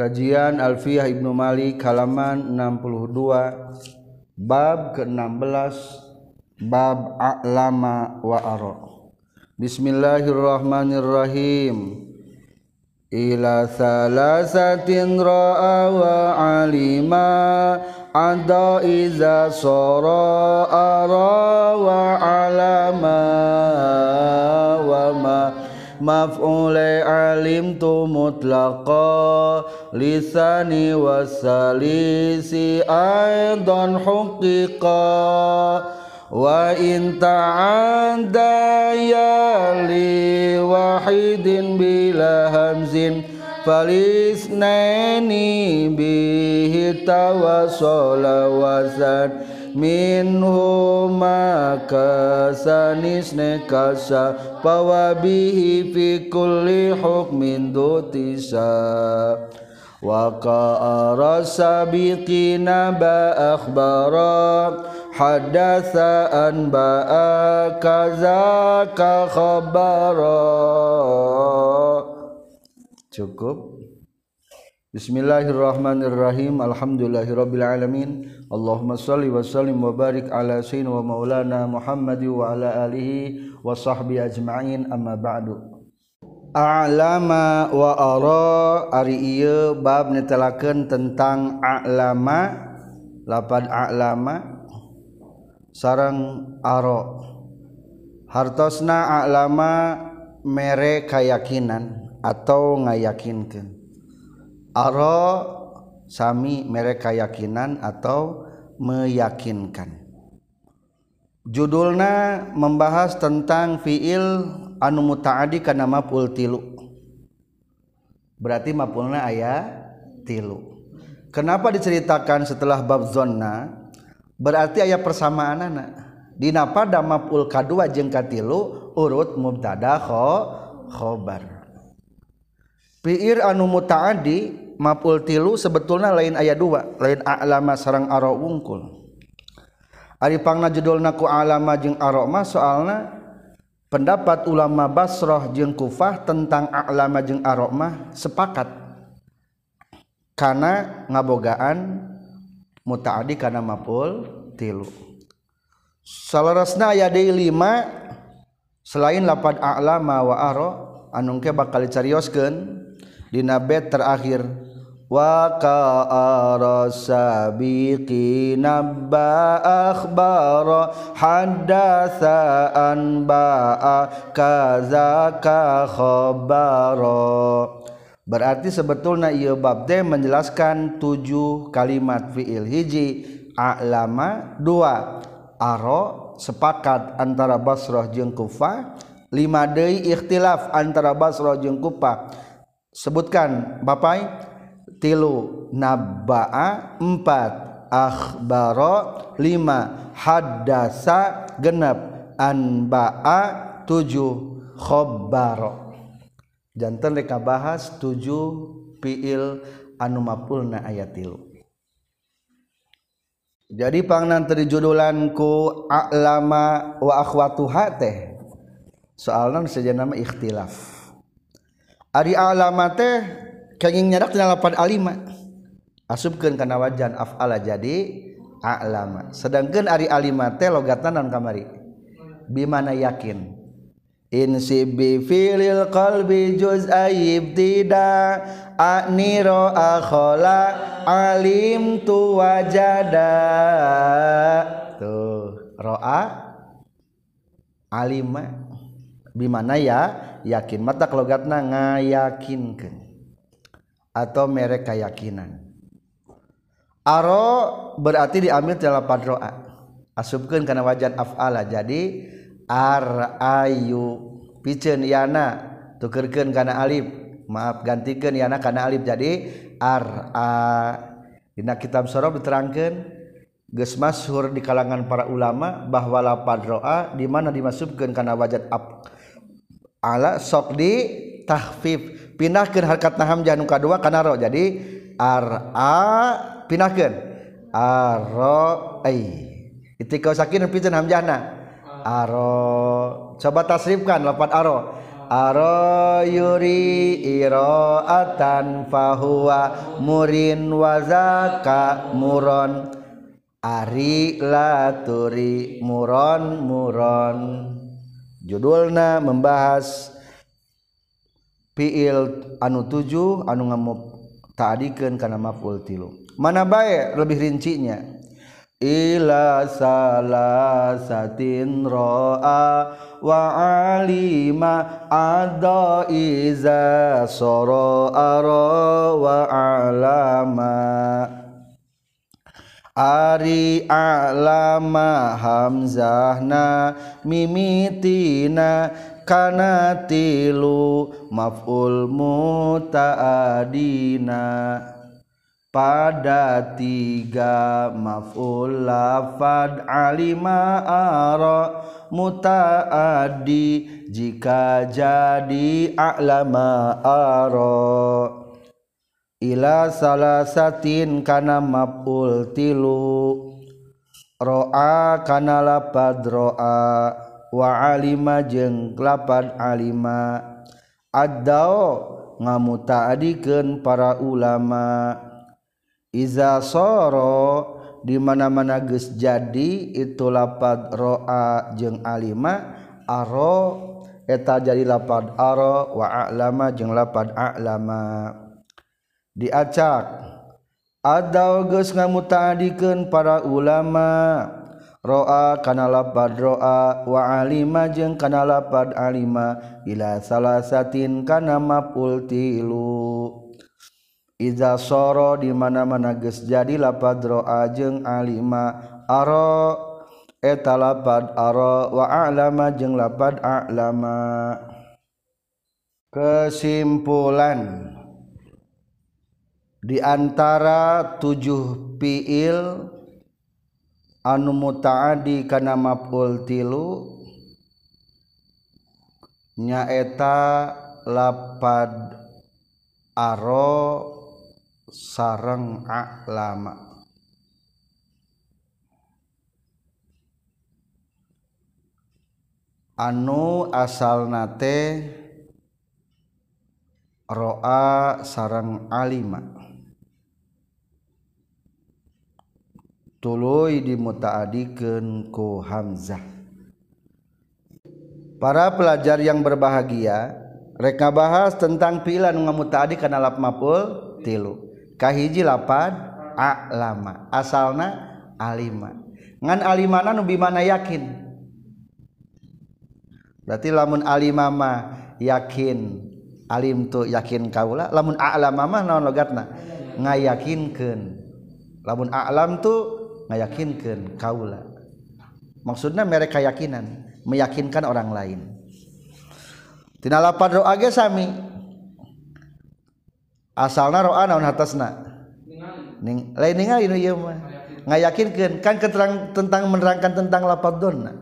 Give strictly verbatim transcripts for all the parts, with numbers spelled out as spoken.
Kajian Alfiyah Ibnu Malik halaman enam puluh dua, bab ke enam belas, bab a'lama wa ara. Bismillahirrahmanirrahim. Ila salasatin ra'a wa alima ada iza sara ara wa alama wa ma maf'ulai alimtu mutlaqa lisani wasalisi aidan huqiqa wa in ta'adda ya li wahidin bila hamzin falisnaini bihi tawassala wasan minhuma kasanisne kasa pawabihi fi kulli hukmin dutisa wa qara sabiqina ba akhbara hadatsa an ba kaza ka khabara. Cukup. Bismillahirrahmanirrahim. Alhamdulillahirabbil alamin. Allahumma shalli wa sallim wa barik ala sayyidina wa maulana Muhammad wa ala alihi wa sahbihi ajma'in. Amma ba'du. A'lama wa ara ari ieu bab netelakeun tentang a'lama, lapad a'lama sareng ara. Hartosna a'lama mere kayakinan atau ngayakinkeun. Ara sami mere kayakinan atau meyakinkan. Judulna membahas tentang fiil anu mutaaddi kana maf'ul tilu. Berarti maf'ulna aya tilu. Kenapa diceritakan setelah bab zonna? Berarti aya persamaanana. Dina pada maf'ul kadua jeung katilu urut mubtada khobar. Fi'il anu mutaaddi maf'ul tilu sebetulna lain aya dua, lain a'lama sareng ara wungkul. Ari pangna judulna ku a'lama jeung ara mah soalna pendapat ulama Basrah jeung Kufah tentang a'lama jeung ara mah sepakat kana ngabogaan mutaaddi kana maf'ul tilu. Salarasna aya deui lima selain lapad a'lama wa ara anu ke bakal dicarioskeun dina bait terakhir wa qara sabiqina ba akhbara hadatsa an ba kaza ka khabara. Berarti sebetulna ieu bab teh menjelaskan tujuh kalimat fiil. Hiji a'lama, dua ara sepakat antara Basrah jeung Kufah, lima deui ikhtilaf antara Basrah jeung Kufah. Sebutkan bapai tilu nabba'a, empat akhbara, lima haddasa, genep anba'a, tujuh khabbara. Janten rek bahas tujuh fiil anu maf'ulna aya tilu. Jadi pangnan teu judulan ku a'lama wa akhwatuha teh soalna sejenna mah ikhtilaf. Ari a'lama teh kenging nyadak tina lapad alima asupkeun kana wajan af'ala jadi a'lama. Sedangkeun ari alima teh logatna naon kamari bimana yakin insib bi filil qalbi juz'ai ibtida aniro akhala alim tu wajada. Tuh ro'a alima bimana ya yakin mata logatna ngayakinkeun atau mere keyakinan. Aro berarti diambil dari lapad ro'a asupkeun kana wajan af'ala jadi ar ayu piceun yana tukeurkeun kana alif, maaf gantikeun yana kana alif jadi ar a. Dina kitab sorof diterangkeun geus masyhur di kalangan para ulama bahwa lapad ro'a di mana dimasukkeun kana wajan af ala sok di tahfif pindahkeun harkat hamzah nu kadua kana ro jadi ar a pindahkeun aro ai itikau sakin pikeun hamzahna aro. Coba tasrifkan lafaz aro aro yuri iraatan fahuwa murin wazaka muron ari laturi muron muron. Judulna membahas fiil anu tujuh anu ngamuta'adikeun kana maf'ul tilu. Mana bae lebih rincinya? Ila salasatin ro'a wa alima adha iza soro aro wa alama. Ari alama hamzahna mimitina kana tilu maf'ul muta'adina. Pada tiga maf'ul lafad alima ara muta'addi jika jadi a'lama ara. Ila salasatin kana maf'ul tilu ro'a kana lapad ro'a wa alima jeung lapad alima addao ngamuta'adikeun para ulama. Iza soro di mana-mana geus jadi itu lapad ro'a jeung alima aro eta jadi lapad aro wa a'lama jeung lapad a'lama. Diacak ada geus ngamuta'adikeun para ulama ro'a kana lapad ro'a wa alima jeung kana lapad alima ila salasatin kana maf'ul tilu. Iza soro di mana-mana geus jadi lapad ro'a jeung alima aro eta lapad aro wa a'lama jeung lapad a'lama. Kesimpulan di antara tujuh fiil anu muta'addi kana maf'ul tilu nyaeta lapad aro sareng a'lama. Anu asalna teh ro'a sareng alima tuluy dimuta'adikeun ku hamzah. Para pelajar yang berbahagia, rek ngabahas tentang fiil anu ngamuta'addi kana lap maf'ul tilu. Kahiji lapad a'lama asalna alima ngan alimana nu bimana yakin. Berarti lamun alima mah yakin alim tu yakin kaula, lamun a'lama mah naon logatna ngayakinkeun. Lamun a'lam tu ngayakinkeun kaula, maksudna mere keyakinan meyakinkan orang lain. Tina lapad ro'a ge sami asalna ro'a naon hatasna ning lain ningali nu ieu mah ngayakinkeun kan keterang tentang menerangkan tentang lapad donna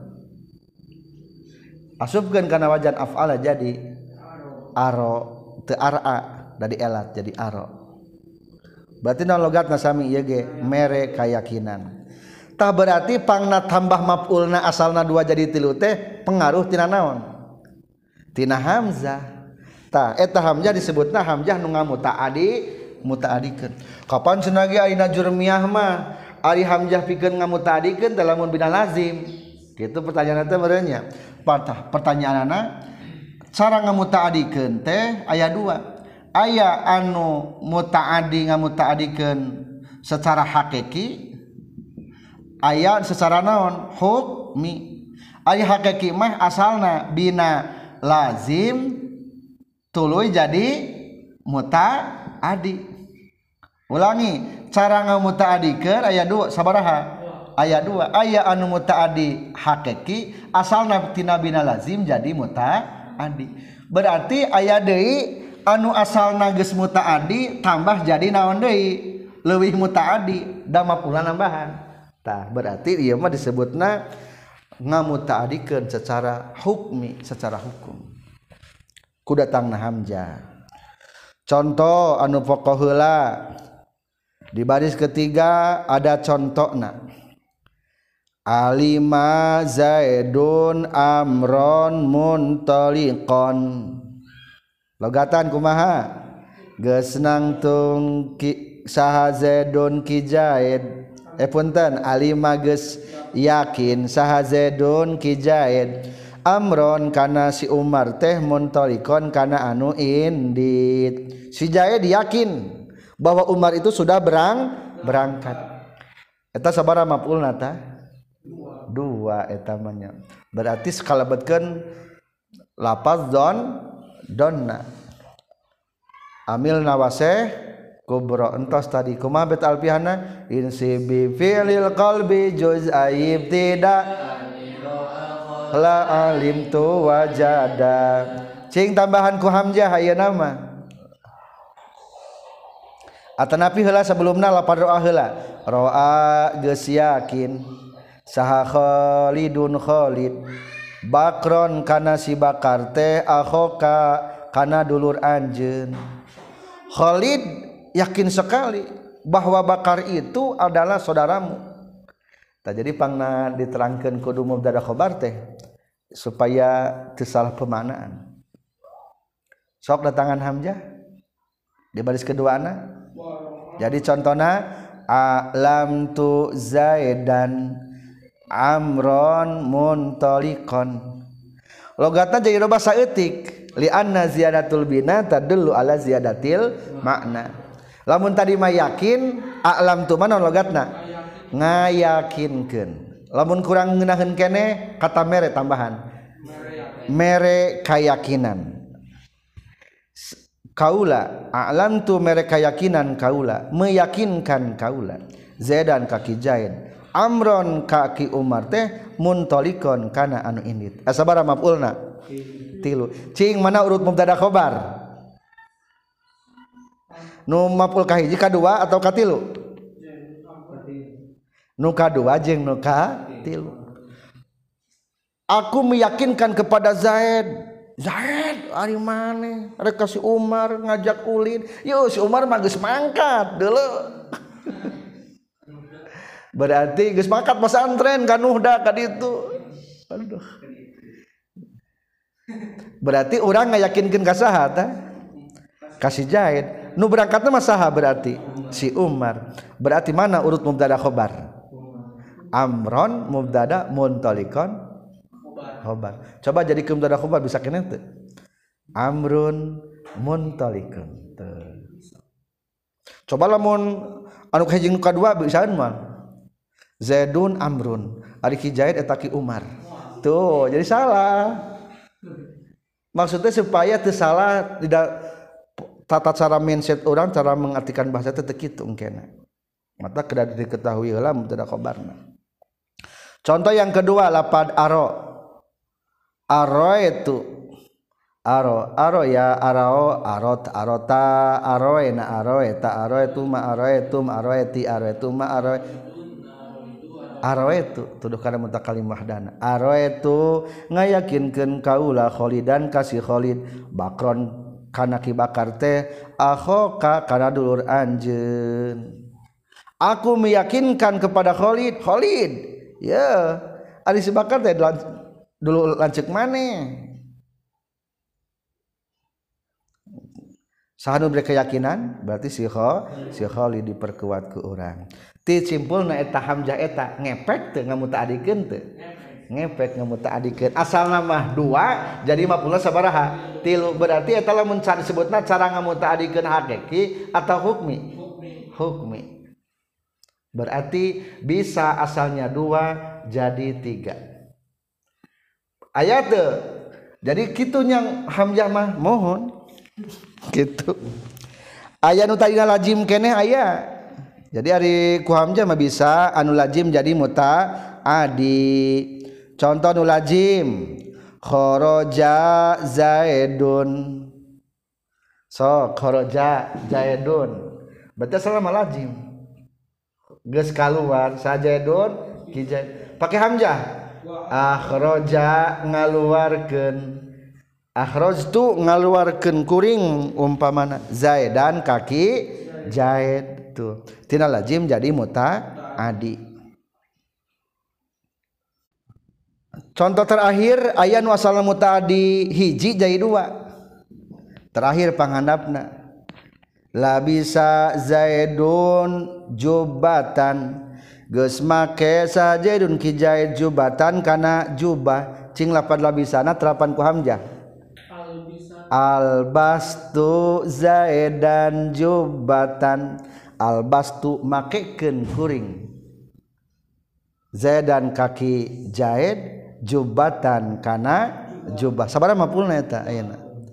asupkeun kana wajan af'ala jadi aro teu ar'a dari elat jadi aro. Berarti naon logatna sami ieu ge mere kayakinan. Tah berarti pangna tambah maf'ulna asalna dua jadi tilu teh pengaruh tina naon? Tina hamzah. Tah eta hamzah disebutna hamzah nu ngamuta'addi muta'addikeun. Kapan cenah ge ayeuna jurmiyah mah ari hamzah pikeun ngamuta'addikeun teh lamun bina lazim. Kitu pertanyaanna teh meureun nya. Pertanyaanna cara ngamuta'addikeun teh aya dua. Aya anu muta'addi ngamuta'addikeun secara hakiki, aya secara naon? Hukmi. Ari hakiki mah asalna bina lazim tuluy jadi muta'addi. Ulangi, cara ngamuta'addikeun aya dua, sabaraha? Aya dua. Aya anu muta'addi hakiki, asalna tina bina lazim jadi muta'addi. Berarti aya deui anu asalna geus muta'addi tambah jadi naon deui? Leuwih muta'addi, da maf'ulna nambahan. Tah, berarti ieu mah disebutna ngamuta'addikeun secara hukmi, secara hukum. Ku datangna hamzah. Contoh anu pokok heula di baris ketiga ada contohna. alima zaidun amron muntaliqon logatan kumaha geus nangtung ki saha zaidun ki zaid eh punten alima geus yakin saha zaidun ki zaid amron kana si Umar teh muntalikon kana anu indit si Zaid yakin bahwa Umar itu sudah berang berangkat eta sabaraha maf'ulna tah dua eta manya berarti sakalebetkeun lafaz don donna amil nawase kubra entos tadi kumaha bet alfihana insibi fi'lil qalbi juz'aib tidak la alim tu wajada cing tambahan ku hamzah ayeuna mah atanapi heula sebelumna lapad roa heula roa geus yakin saha Khalidun Khalid bakron kana si bakar teh akhoka kana dulur anjeun Khalid yakin sekali bahwa bakar itu adalah saudaramu tak jadi pangna diterangkeun kudu mubtada khobar teh supaya teu salah pemaknaan sok datangan hamzah di baris keduana jadi contohna alam tu zaidan amron muntaliqon logatna jadi loba saeutik li anna ziyadatul bina tadullu ala ziyadatil makna lamun tadi mah yakin alam tu mana logatna ngayakinkeun lamun kurang ngeunaheun keneh kata mere tambahan mere kayakinan kaula alam tu mere kayakinan kaula meyakinkan kaula zaidan kaki zaid amron kaki Umar teh muntalikon kana anu indit asabara maf'ulna tilu cing mana urut mubtada khobar nu maf'ul kahiji kadua atau katilu nu kadua jeung nu katilu aku meyakinkan kepada Zaid Zaid ari maneh rek ka si Umar ngajak ulin yo si Umar mah geus mangkat deuleu berarti geus mangkat pesantren ka Nuhda ka ditu aduh berarti urang ngayakinkeun ka saha tah ka si Zaid nu berangkatna mah saha berarti si Umar berarti mana urut mubtada khobar amron mubtada muntalikon khobar coba jadi ke mubtada khobar bisa kene teu amrun muntalikun teu coba lamun anu kahiji nu kadua bisaan mah zaidun amrun ari ki zaid eta ki Umar tuh jadi salah maksudnya supaya teu salah tidak tata cara mindset orang cara mengartikan bahasa teh teu kitu engkena mata kedah diketahui heula mubtada khobarna. Contoh yang kedua lapad aro aro itu aro aro ya arao arot arota aroena aroeta aroetu ma aroetum aroeti aroetu ma aro aroetu tuduh kana mutakalim wahdana aroetu ngayakinkeun kaula Khalidan kasih Khalid bakron kana ki bakar teh akhoka kana dulur anjeun aku meyakinkan kepada Khalid Khalid ya, ari si bakar teh dulu lanceuk maneh. Saha nu beri keyakinan berarti si kho, si Khalid diperkuat ku urang. Ti simpulna eta hamzah eta ngepek teu ngamutaadikeun teu? Ngepek ngamutaadikeun. Asalna mah dua jadi maf'ulna sabaraha? Tilu berarti eta lamun cara disebutna cara ngamutaadikeun hakiki atau hukmi? Hukmi. Berarti bisa asalnya dua jadi tiga ayat tuh jadi kitu yang hamzah mah mohon gitu aya nu tadina lazim keneh aya jadi ari ku hamzah mah bisa anu lazim jadi mutaaddi contoh nu lazim kharaja zaidun so kharaja zaidun berarti asal mah lazim geus kaluar sajaidun kijai pakai hamzah akhraja ngaluarkeun akhrajtu ngaluarkeun kuring umpamana zaidan kaki zaid tuh tina lazim jadi mutaaddi Contoh terakhir aya nu asalna mutaaddi hiji jadi dua. Terakhir panghandapna labisa zaidun jubatan geus make sajaidun ki zaid jubatan kana jubah cing lapad labisana terapan ku hamzah albastu zaidan jubatan albastu makekeun kuring zaidan kaki zaid jubatan kana jubah sabaraha maf'ulna eta ayeuna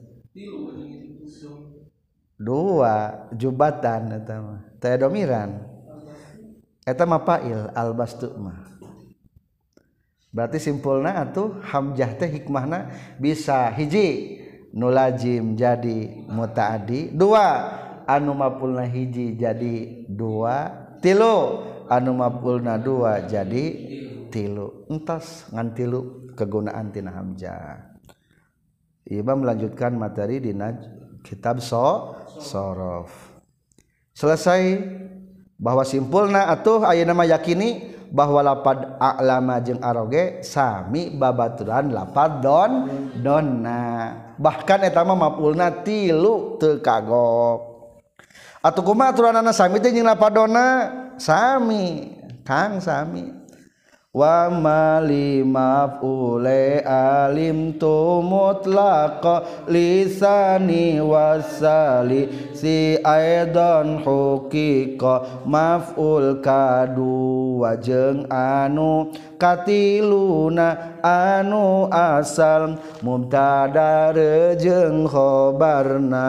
dua jubatan eta mah teu domiran eta mah fa'il albastu mah berarti simpulna atuh hamzah teh hikmahna bisa hiji nu lazim jadi mutaaddi dua anu maf'ulna hiji jadi dua tilu anu maf'ulna dua jadi tilu entos ngan tilu kegunaan tina hamzah. Imam melanjutkan materi dina kitab so sorof selesai bahwa simpulna atuh ayeuna mah yakini bahwa lapad a'lama jeung aroge sami babaturan lapad don donna bahkan eta mah maf'ulna tilu teu kagok atuh kumaha aturanana sami teh jeung lapad donna sami kang sami wa mali maf'ule alim tu mutlaqa lisani wasali si aidan huqiqa maf'ul kadu wajeng anu katiluna anu asal mubtada jeung khobarna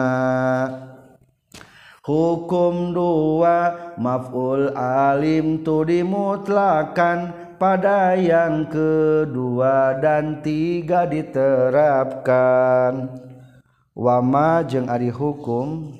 hukum dua maf'ul alim tu dimutlakan pada yang kedua dan tiga diterapkan wama jeung ari hukum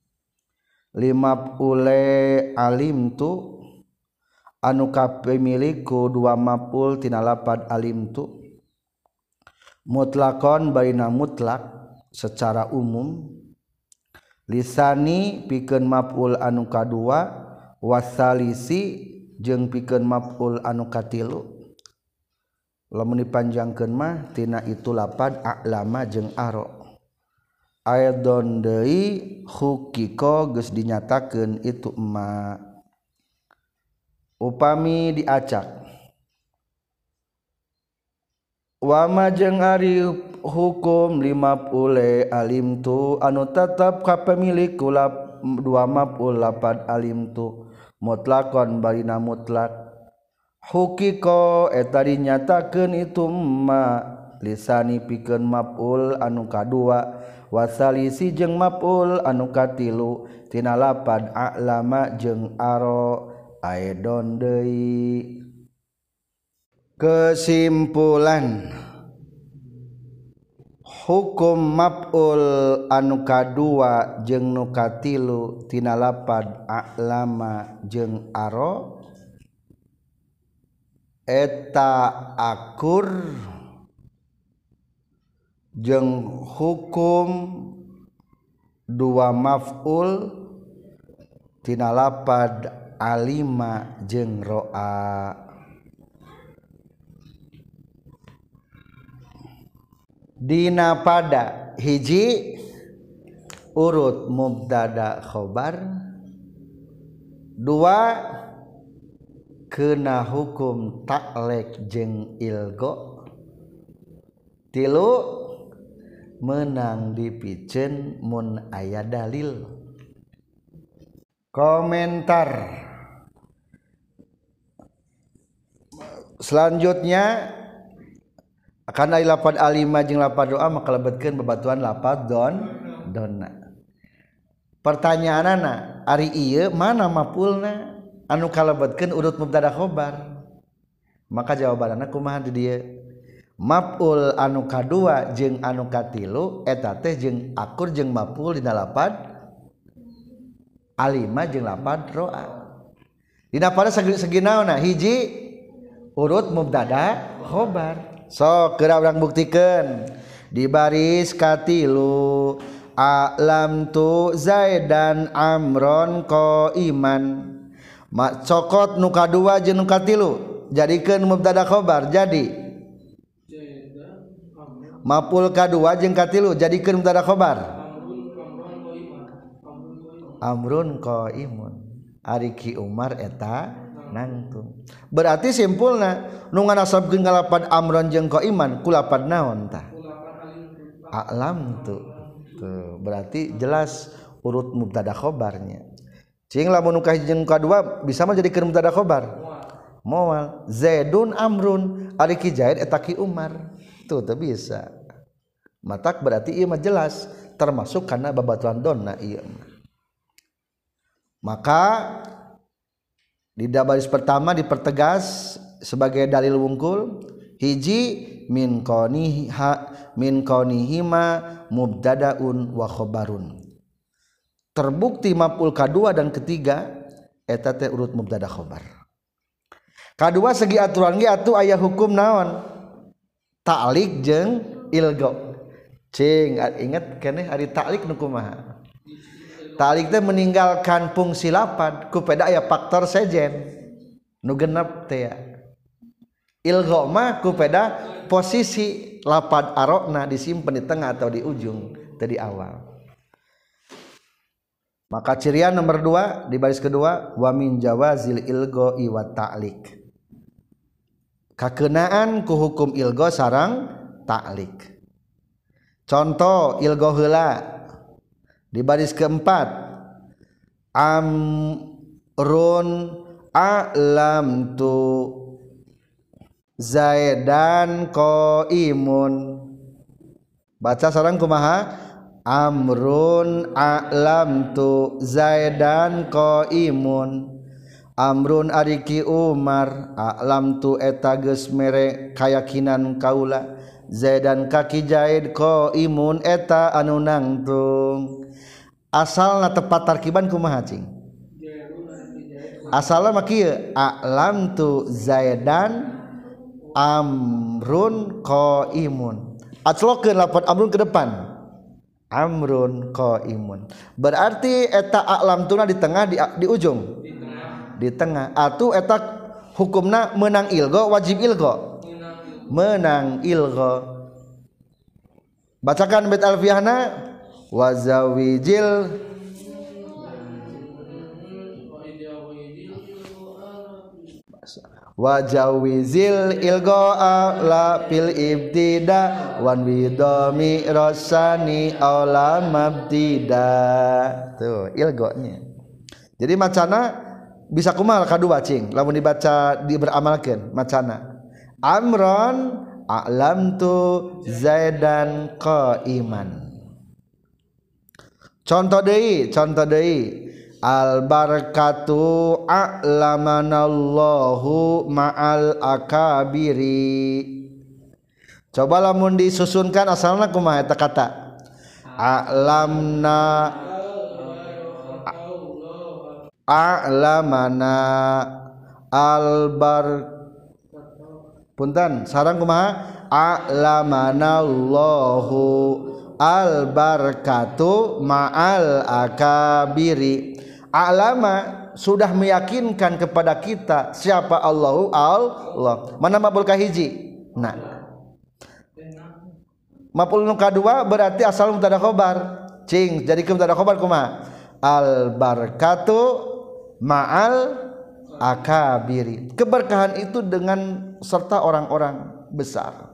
lima ule alim tu anu kapemiliku dua maf'ul tina lapad alim tu mutlakon baina mutlak secara umum lisani pikeun maf'ul anu kadua wasalisi jeung pikeun maf'ul anu katilu lamun dipanjangkeun mah tina itu lapad a'lama jeung aro aidon deui huqiqa geus dinyatakeun itu emma upami diacak wama jeung ari hukum lima pule alim tu anu tetep kapemilik kula dua maf'ul lapad alim tu mutlakon balina mutlak huqiqa eta dinyatakeun itu ma lisani pikeun maf'ul anu kadua wasalisi jeung maf'ul anu katilu tina lapad a'lama jeung aro aidon deui. Kesimpulan hukum maf'ul anu kadua jeung nu katilu tina lapad a'lama jeung aro eta akur jeung hukum dua maf'ul tina lapad alima jeung ro'a. Dina pada hiji urut mubtada khobar dua kena hukum taklek jeung ilgo tilu menang dipikeun mun aya dalil. Komentar selanjutnya akan ari lapad alima jeung lapad doa maka lebetkeun babatuan lapad don donna. Pertanyaanana ari ieu mana maf'ulna anu kalebetkeun urut mubtada khobar? Maka jawabanana kumaha di dieu? Maf'ul anu kadua jeung anu katilu eta teh jeung akur jeung maf'ul dina lapad alima jeung lapad roa. Dina pada segi naonna hiji urut mubtada khobar. So kira urang buktikeun di baris katilu a'lam tu zaidan amron qaiman mak cokot nu kadua jeung nu katilu jadikeun mubtada khobar jadi mapul kadua jeung katilu jadikeun mubtada khobar. Amrun qaimun ari Ki Umar eta nangtung. Berarti simpulna nu nganasabkeun kalapad amron jeung qaiman ku lapad naon tah? A'lam tu. Tuh, berarti jelas urut mubtada khobarnya. Cing lamun nu kahiji jeung kadua bisa mah jadikeun mubtada khobar. Moal Zaidun amrun ari Ki Zaid eta Ki Umar. Tuh teu bisa. Matak berarti ieu mah jelas termasuk kana babaturan donna ieu mah. Maka di baris pertama dipertegas sebagai dalil wungkul hiji min qaniha min qanihima mubtadaun wa khabarun. Terbukti maf'ul kadua dan ketiga eta teh urut mubtada khabar. Kadua segi aturan ge atuh aya hukum naon? Ta'liq jeung ilgo. Cing inget keneh ari ta'liq nu kumaha? Ta'liq teh meninggalkan fungsi lapad ku peda aya faktor sejen nu genep teh ya. Ilgha mah ku peda posisi lapad arokna disimpen di tengah atau di ujung teu di awal. Maka cirian nomor dua di baris kedua wa min jawazil ilgha wa ta'liq. Kakeunaan ku hukum ilgha sareng ta'liq. Contoh ilgha heula di baris keempat amrun a'lam tu Zaidan qaimun. Baca sareng kumaha? Amrun a'lam tu Zaidan qaimun. Amrun ari Ki Umar a'lam tu eta geus mere kayakinan kaula Zaidan kaki Zaid qaimun eta anu nangtung. Asalna tepat tarkiban kumaha cing? Asalna mah kieu a'lam tu Zaidan amrun qaimun. Aclokeun lafaz amrun ke depan. Amrun qaimun. Berarti eta a'lam tuna di tengah di, di ujung. Di tengah. Di tengah. Atuh eta hukumna menang ilgha wajib ilgha. Menang ilgha. Bacakan bait alfiyahna wazawijil wajawizil ilgo'a la fil ibtida wan widami rosani aula mabtida. Tuh ilgonya. Jadi macana bisa kumal kadua cing lamun dibaca diberamalkeun macana amron a'lamtu Zaidan qaiman. Contoh deui, contoh deui. Al barakatu a'lamanallahu ma'al akabiri. Coba lamun disusunkan asalna kumaha eta kata? A'lamna a'lamana al bar punten sareng kumaha? A'lamanallahu al barakatu ma'al akabiri. A'lama sudah meyakinkan kepada kita siapa Allahu Allah. Mana maf'ul kahiji? Nah. Maf'ul nu kadua berarti asal mubtada khobar. Cing, jadi ke mubtada khobar kumaha? Al barakatu ma'al akabiri. Keberkahan itu dengan serta orang-orang besar.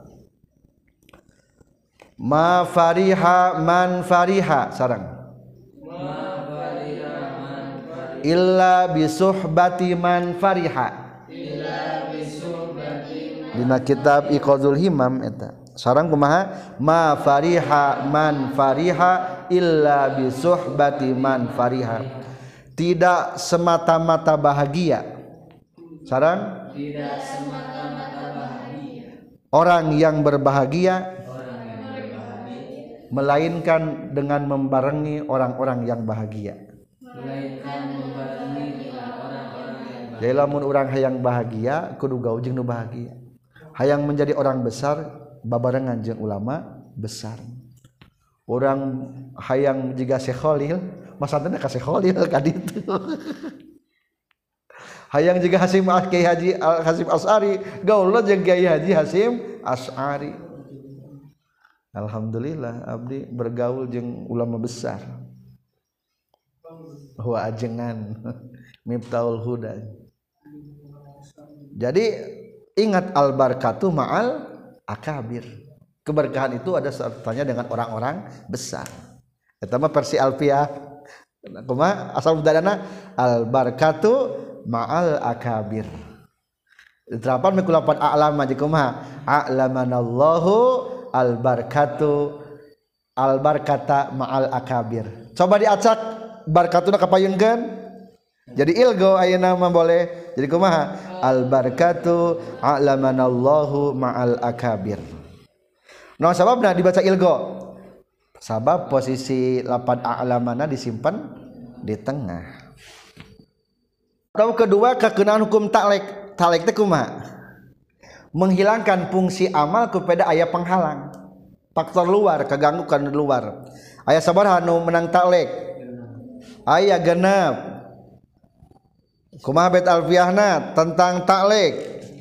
Ma fariha man fariha sarang ma fariha man fariha illa bisuhbati man fariha illa bisuhbati man dina kitab Iqadul Himam eta sarang kumaha ma fariha man fariha illa bisuhbati man fariha. Tidak semata-mata bahagia sarang tidak semata-mata bahagia orang yang berbahagia melainkan dengan membarengi orang-orang yang bahagia. Melainkan membarengi dengan orang-orang yang bahagia. Jadi lamun urang hayang bahagia kudu gaul jeung nu bahagia. Hayang menjadi orang besar babarengan jeung ulama besar. Urang hayang jiga Syekh Khalil, masantena ka Syekh Khalil ka ditu. Hayang jiga Hasim Kiai Haji Hasim Asy'ari, gaulna jeung Kiai Haji Hasim Asy'ari. Alhamdulillah abdi bergaul jeung ulama besar. Wa ajengan Miftahul Huda. Jadi ingat al barakatuh ma'al akabir. Keberkahan itu ada sertanya dengan orang-orang besar. Eta mah versi Alfiah. Kumaha asal budayana al barakatuh ma'al akabir. Diterapkan mikulapan a'lama jeung kumaha? A'lamanallahu al barakatuh al barakata ma'al akabir. Coba diacak barakatuna kapayunkeun. Jadi ilgo ayeuna mah boleh. Jadi kumaha? Al barakatu a'lamanallahu ma'al akabir. Nah sababna dibaca ilgo. Sabab posisi lapan a'lamana disimpan di tengah. Atau kedua kekenaan hukum taklek. Taklek teh kumaha? Menghilangkan fungsi amal kepada aya penghalang. Faktor luar kaganggu kana luar. Aya sabaraha nu menang taklek? Aya genep. Kumaha bait alfiahna tentang taklek.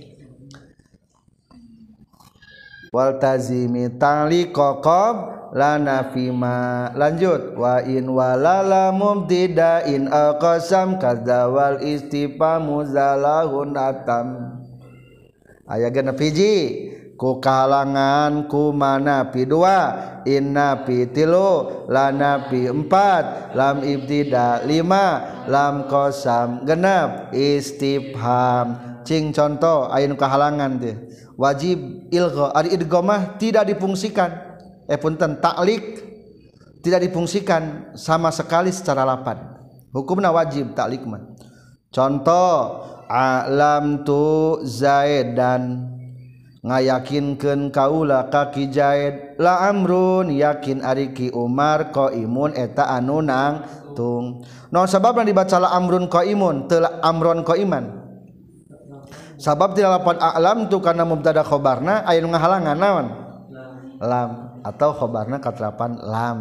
Wal tazimi ta'liqaqab lana fima lanjut wa in walala mubtidain aqsam kadzawal istifamu zalahun atam. Aya genep hiji ku kalangan ku mana pi dua inna pi tilu lana pi empat lam ibtida lima lam qasam genep istifham cing contoh aya nu kahalangan teh wajib ilgha ari idghamah tidak difungsikan eh punten taklik tidak difungsikan sama sekali secara lapan hukumna wajib taklik mah contoh alam tu zaidan ngayakinkeun kaula ka ki Zaid la amrun yakin ari ki Umar qaimun eta anu nangtung. No sababna dibaca la amrun qaimun teu amron qaiman. Sabab ti lapan a'lam tu kana mubtada khobarna aya nu ngahalangan naon? Lam atau khobarna katerapan lam.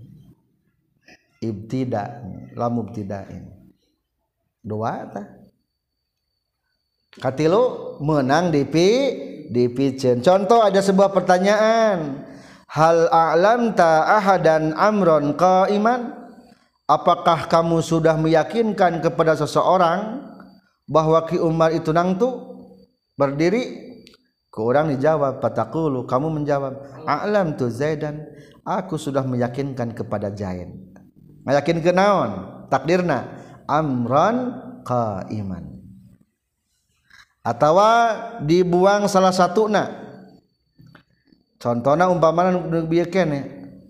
Ibtida lam mubtida'in. Dua tah. Katilu menang di pi dipicen. Contoh ada sebuah pertanyaan. Hal a'lamta ahadan amron qaiman? Apakah kamu sudah meyakinkan kepada seseorang bahwa Ki Umar itu nangtu berdiri? Ku urang dijawab pataqulu kamu menjawab a'lamtu Zaidan aku sudah meyakinkan kepada Zaid. Meyakinkeun naon? Takdirna amron qaiman. Atawa dibuang salah satuna contohna umpamana nu bieu keneh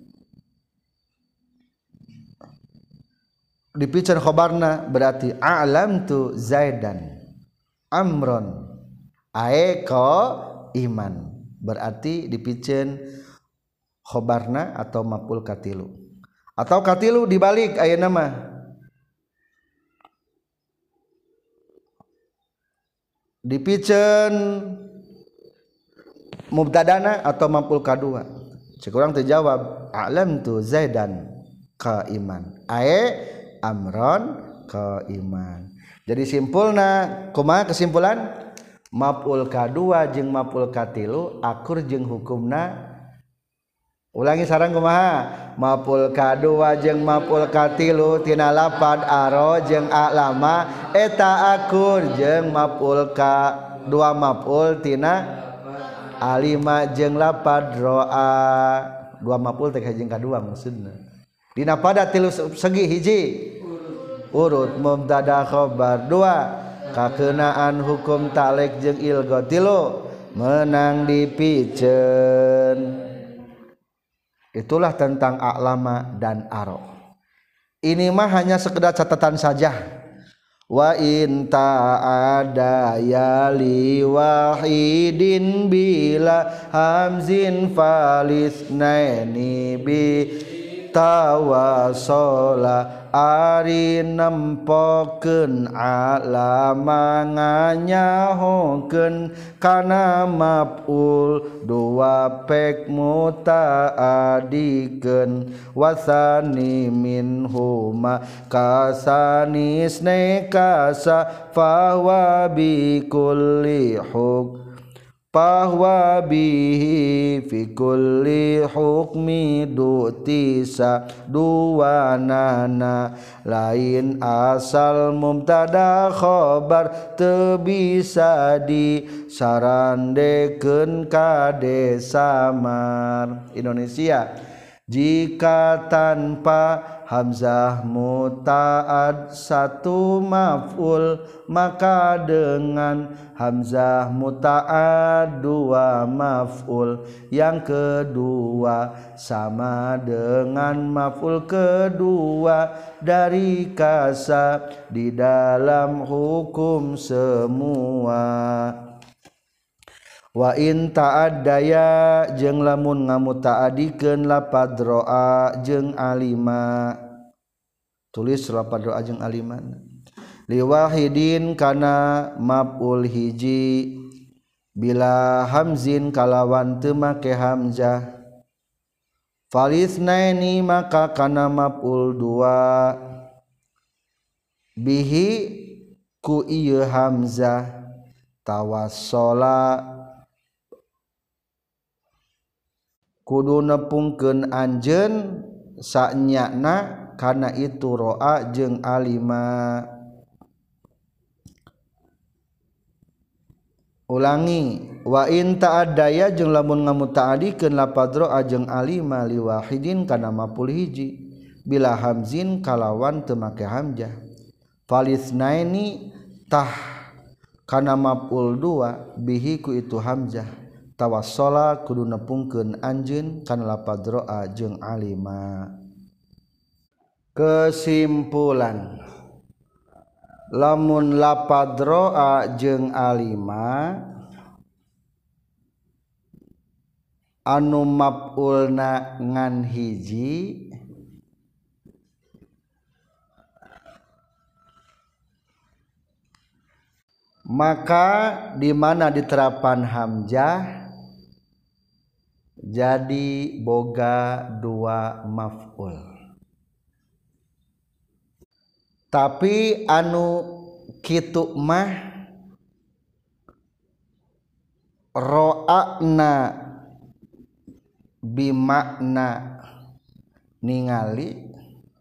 dipicen khobarna berarti a'lamtu Zaidan amron ae ko iman berarti dipicen khobarna atau maf'ul katilu atau katilu dibalik ayeuna mah dipicen mubtadana atau maf'ul kadua. Cek urang teu jawab a'lamtu Zaidan qaiman. Ae amron qaiman. Jadi simpulna kumaha kesimpulan? Maf'ul kadua jeung maf'ul katilu akur jeung hukumna. Ulangi sareng kumaha? Maf'ul kadua jeung maf'ul katilu tina lapad aro jeung a'lama eta akur jeung maf'ul ka dua maf'ul tina alima jeung lapad ro'a dua maf'ul teh jeung kadua maksudna. Dina pada tilu segi hiji urut mubtada khabar dua kakeunaan hukum taklek jeung ilgha tilu menang dipicen. Itulah tentang a'lama dan aro. Ini mah hanya sekedar catatan saja. Wa in ta'ada yali wahidin bila hamzin falisnaini bi tawasola ari nempokeun alama nganyahokeun kana maf'ul dua pek mutaadikeun wasani minhuma kasanisne kasa fawa bi kulli huk bahwa bihi fi kulli hukmi dutisa duwanana lain asal mubtada khobar teu bisa disarandekeun kade samar. Indonesia jika tanpa hamzah muta'ad satu maf'ul maka dengan hamzah muta'ad dua maf'ul yang kedua sama dengan maf'ul kedua dari kasa di dalam hukum semua. Wa in ta'addaya jeung lamun ngamuta'adikeun lapad ro'a jeung alima tulis lapad ro'a jeung aliman liwahidin kana maf'ul hiji bila hamzin kalawan teu make hamzah falisnaini maka kana maf'ul dua bihi ku ieu hamzah tawassola kudu nepungkeun anjeun sanyana kana itu ro'a jeung alima. Ulangi wa in ta'addaya jeung lamun ngamuta'adikeun lapad ro'a jeung alima liwahidin kana maf'ul hiji bila hamzin kalawan teu make hamzah falisnaini tah kana maf'ul dua bihi ku itu hamzah tawassola kudu nepungkeun anjeun kana lapad ro'a jeung alima. Kesimpulan lamun lapad ro'a jeung alima anu maf'ulna ngan hiji maka di mana diterapan hamzah jadi boga dua maf'ul. Tapi anu kitu mah ro'ana bimakna ningali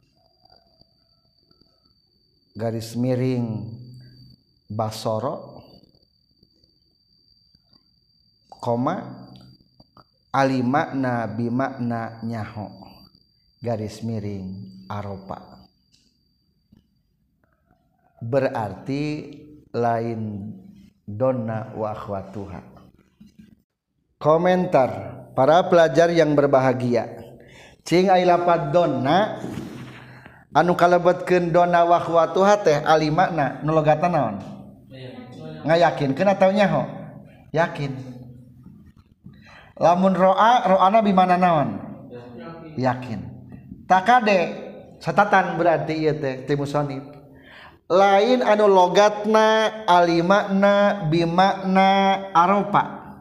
garis miring basoro koma alimakna bimakna nyaho garis miring aropa berarti lain donna wa akhwatuha. Komentar para pelajar yang berbahagia cing aya lapad donna anu kalebetkeun donna wa akhwatuha teh alimakna nu logatan naon ngayakinkeun atawa nyaho yakin. Lamun ro'a ro'ana bimana naon yakin takade catatan berarti ieu teh ti musannif lain anu logatna alimakna bimakna aropa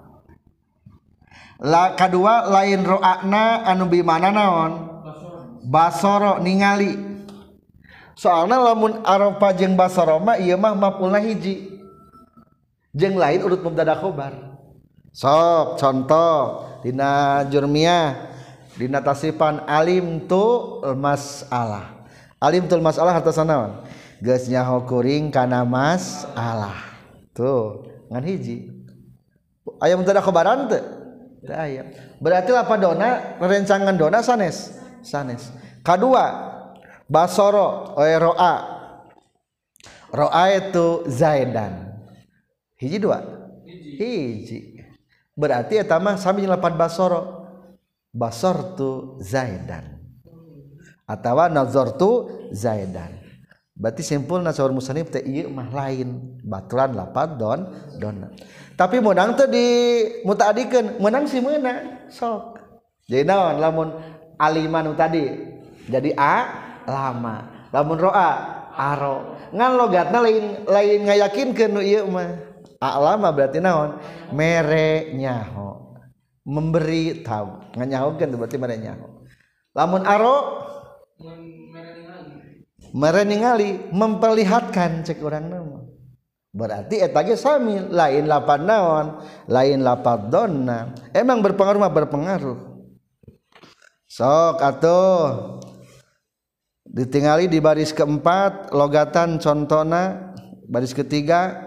la kadua lain ro'ana anu bimana naon basoro ningali soalna lamun aropa jeung basoro mah ieu mah maf'ulna hiji jeung lain urut mubtada khobar. Sok contoh dina jurmiyah dina tasifan alim tu masalah alim tu masalah hartosan naon geus nyaho kuring kana masalah tuh ngan hiji aya mubtada khobaran teu teu aya berarti lapad dona rencangan dona sanes sanes. Kadua basoro oe ro'a ro'a itu zaidan hiji dua hiji berarti eta mah sami jeung lapad basoro basortu zaidan atawa nazartu zaidan berarti simpulna saur musannif teh ieu mah lain baturan lapad don donna tapi meunang teh di mutaadikeun meunang si meuna sok jadi naon lamun aliman tadi jadi a lama lamun ro'a aro ngan logatna lain lain ngayakinkeun nu ieu mah alama berarti naon mere nyaho memberi tahu nganyahokeun berarti mere nyaho lamun aro mere ningali memperlihatkan cek urang nama berarti eta ge sami lain lapad naon lain lapad donna emang berpengaruh mah berpengaruh sok atuh ditingali di baris keempat logatan contona baris ketiga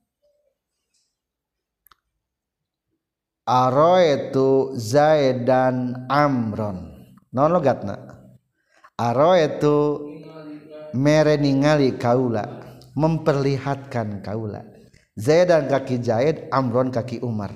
aroetu Zaidan Amron non logatna aroetu mere ningali kaula memperlihatkan kaula Zaidan kaki Zaid Amron kaki Umar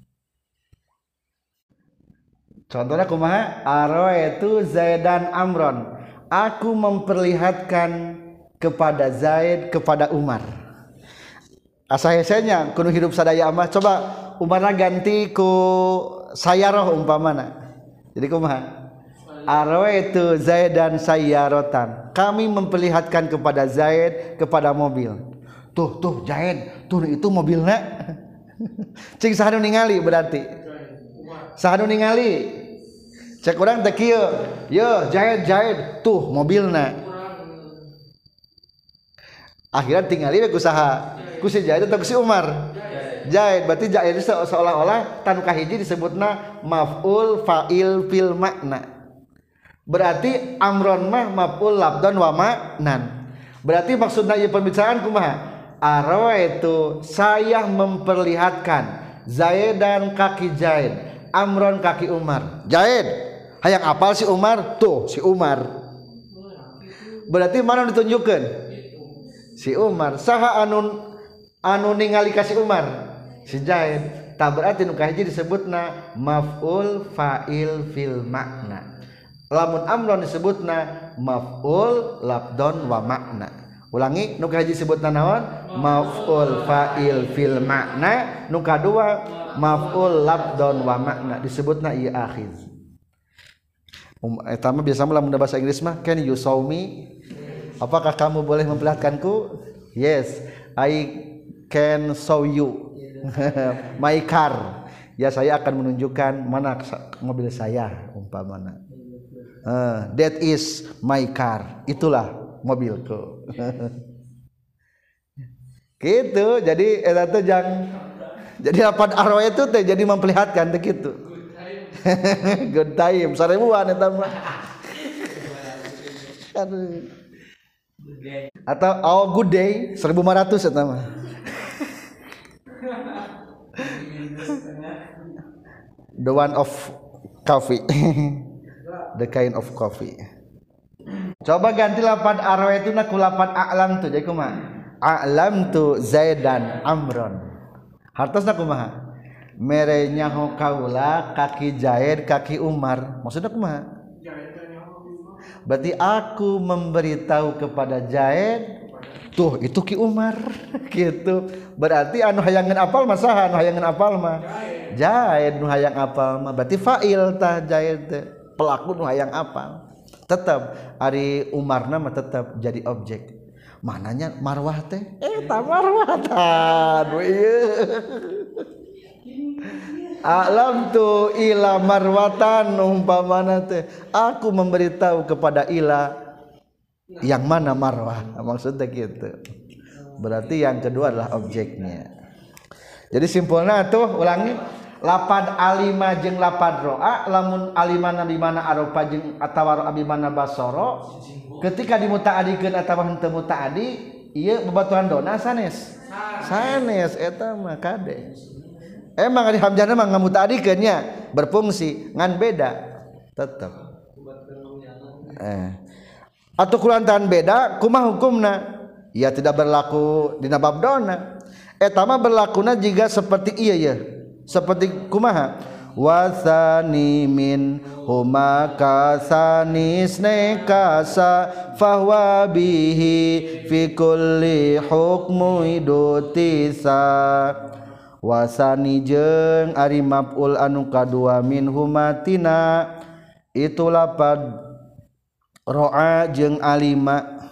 contohnya kumaha aroetu Zaidan Amron aku memperlihatkan kepada Zaid kepada Umar asa hesenya kudu hidup sadaya mah coba Umarna ganti ku sayaroh umpamana jadi kumaha aroetu Zaidan sayyaratan kami memperlihatkan kepada Zaid kepada mobil tuh tuh Zaid tuh itu mobilnya cing sahanu ningali berarti sahanu ningali cek urang teh kieu yo Zaid Zaid tuh mobilna akhirnya tingali we ku saha ku si Zaid atau ku si Umar Zaid berarti Zaid seolah-olah tanu kahiji disebutna maf'ul fa'il fil makna berarti Amron mah maf'ul labdan wa ma'nan berarti maksudna ieu pembicaraan kumaha aroetu saya memperlihatkan Zaidan kaki Zaid Amron kaki Umar Zaid hayang apal si Umar tuh si Umar berarti mana ditunjukkan si Umar saha anu anu ningali ka si Umar si Zaid tak berarti nu kahiji disebutna maf'ul fa'il fil makna lamun Amron disebutna maf'ul labdon wa makna ulangi nu kahiji disebutna naon maf'ul fa'il fil makna nu kadua maf'ul labdon wa makna disebutna ieu akhiz um, eta mah biasa mah lamun bahasa Inggris mah can you show me apakah kamu boleh memperlihatkanku yes I can show you my car ya saya akan menunjukkan mana mobil saya umpamana Uh, that is my car itulah mobilku gitu jadi eta teh jang jadi lapad arwah itu teh jadi memperlihatkan teh gitu good time sarebuan eta mah atau oh good day seribu lima ratus eta mah the one of coffee the kind of coffee coba ganti lapad arwah itu nak lapad a'lam tu jadi kumaha a'lam tu Zaidan Amron hartosna kumaha mere nyaho kaula kaki Zaid kaki Umar maksudna kumaha berarti aku memberitahu kepada Zaid tuh itu ki Umar gitu berarti anu hayangan apal mah saha anu hayangan apal mah Zaid nu hayang apal mah berarti fa'il tah Zaid teh pelaku nu hayang apal tetap ari Umarna mah tetap jadi objek mananya marwah teh eta marwah tah ieu alam tu ila marwatan umpamana teh aku memberitahu kepada ila yang mana marwah maksudnya gitu berarti yang kedua adalah objeknya jadi simpulnya tuh ulangi lapad alima jeung lapad ro'a lamun alimana di mana aropa jeung atawa abi mana basoro ketika dimutaadikeun atawa henteu mutaadi ieu babatuhan dona sanes sanes eta mah kade emang di hamzahna mah ngamutaadikeun nya berfungsi ngan beda tetep eh atuh kulantaran beda kumaha hukumna ya tidak berlaku dina bab dona eta mah berlakuna jiga seperti ieu ya seperti kumaha wasani min huma kasanis nekasa fahwa bihi fi kulli hukmu idutisa wasani jeung ari maf'ul anu kadua min humatina itu lapad ro'a jeung alima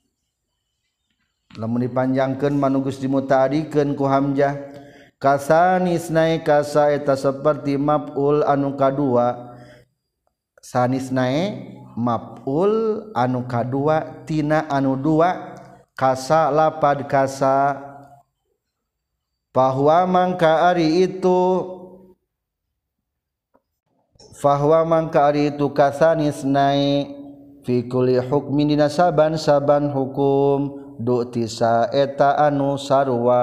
lamun dipanjangkeun manugus dimutaadikeun ku hamzah kasanisnae kasa eta seperti maf'ul anu kadua sanisnae maf'ul anu kadua tina anu dua kasa lapad kasa Fahuwa mangka ari itu Fahuwa mangka ari itu kasanis nai fi kulli hukmin dina saban saban hukum du'tisa eta anu sarua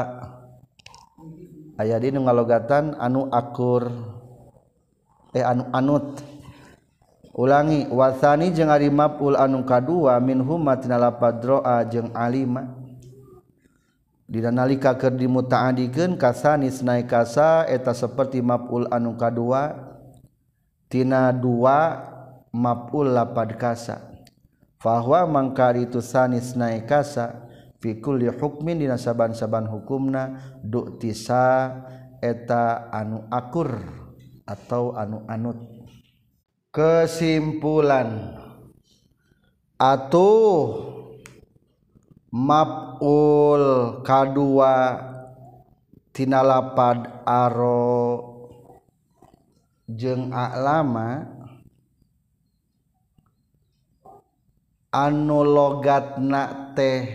aya di nu ngalogatan anu akur eh anu anut ulangi wasani jeung ari maf'ul anu kadua minhum matina lapad ro'a jeung alima dina nalika keur dimutaadikeun kasanis naik kasa eta saperti maf'ul anu kadua tina dua maf'ul lapad kasa fahuwa mangkari tu sanis naik kasa fi kulli hukmin dina saban-saban hukumna du'tisa eta anu akur atau anu anut. Kesimpulan atuh maf'ul kadua tina lapad aro jeung a'lama anu logatna teh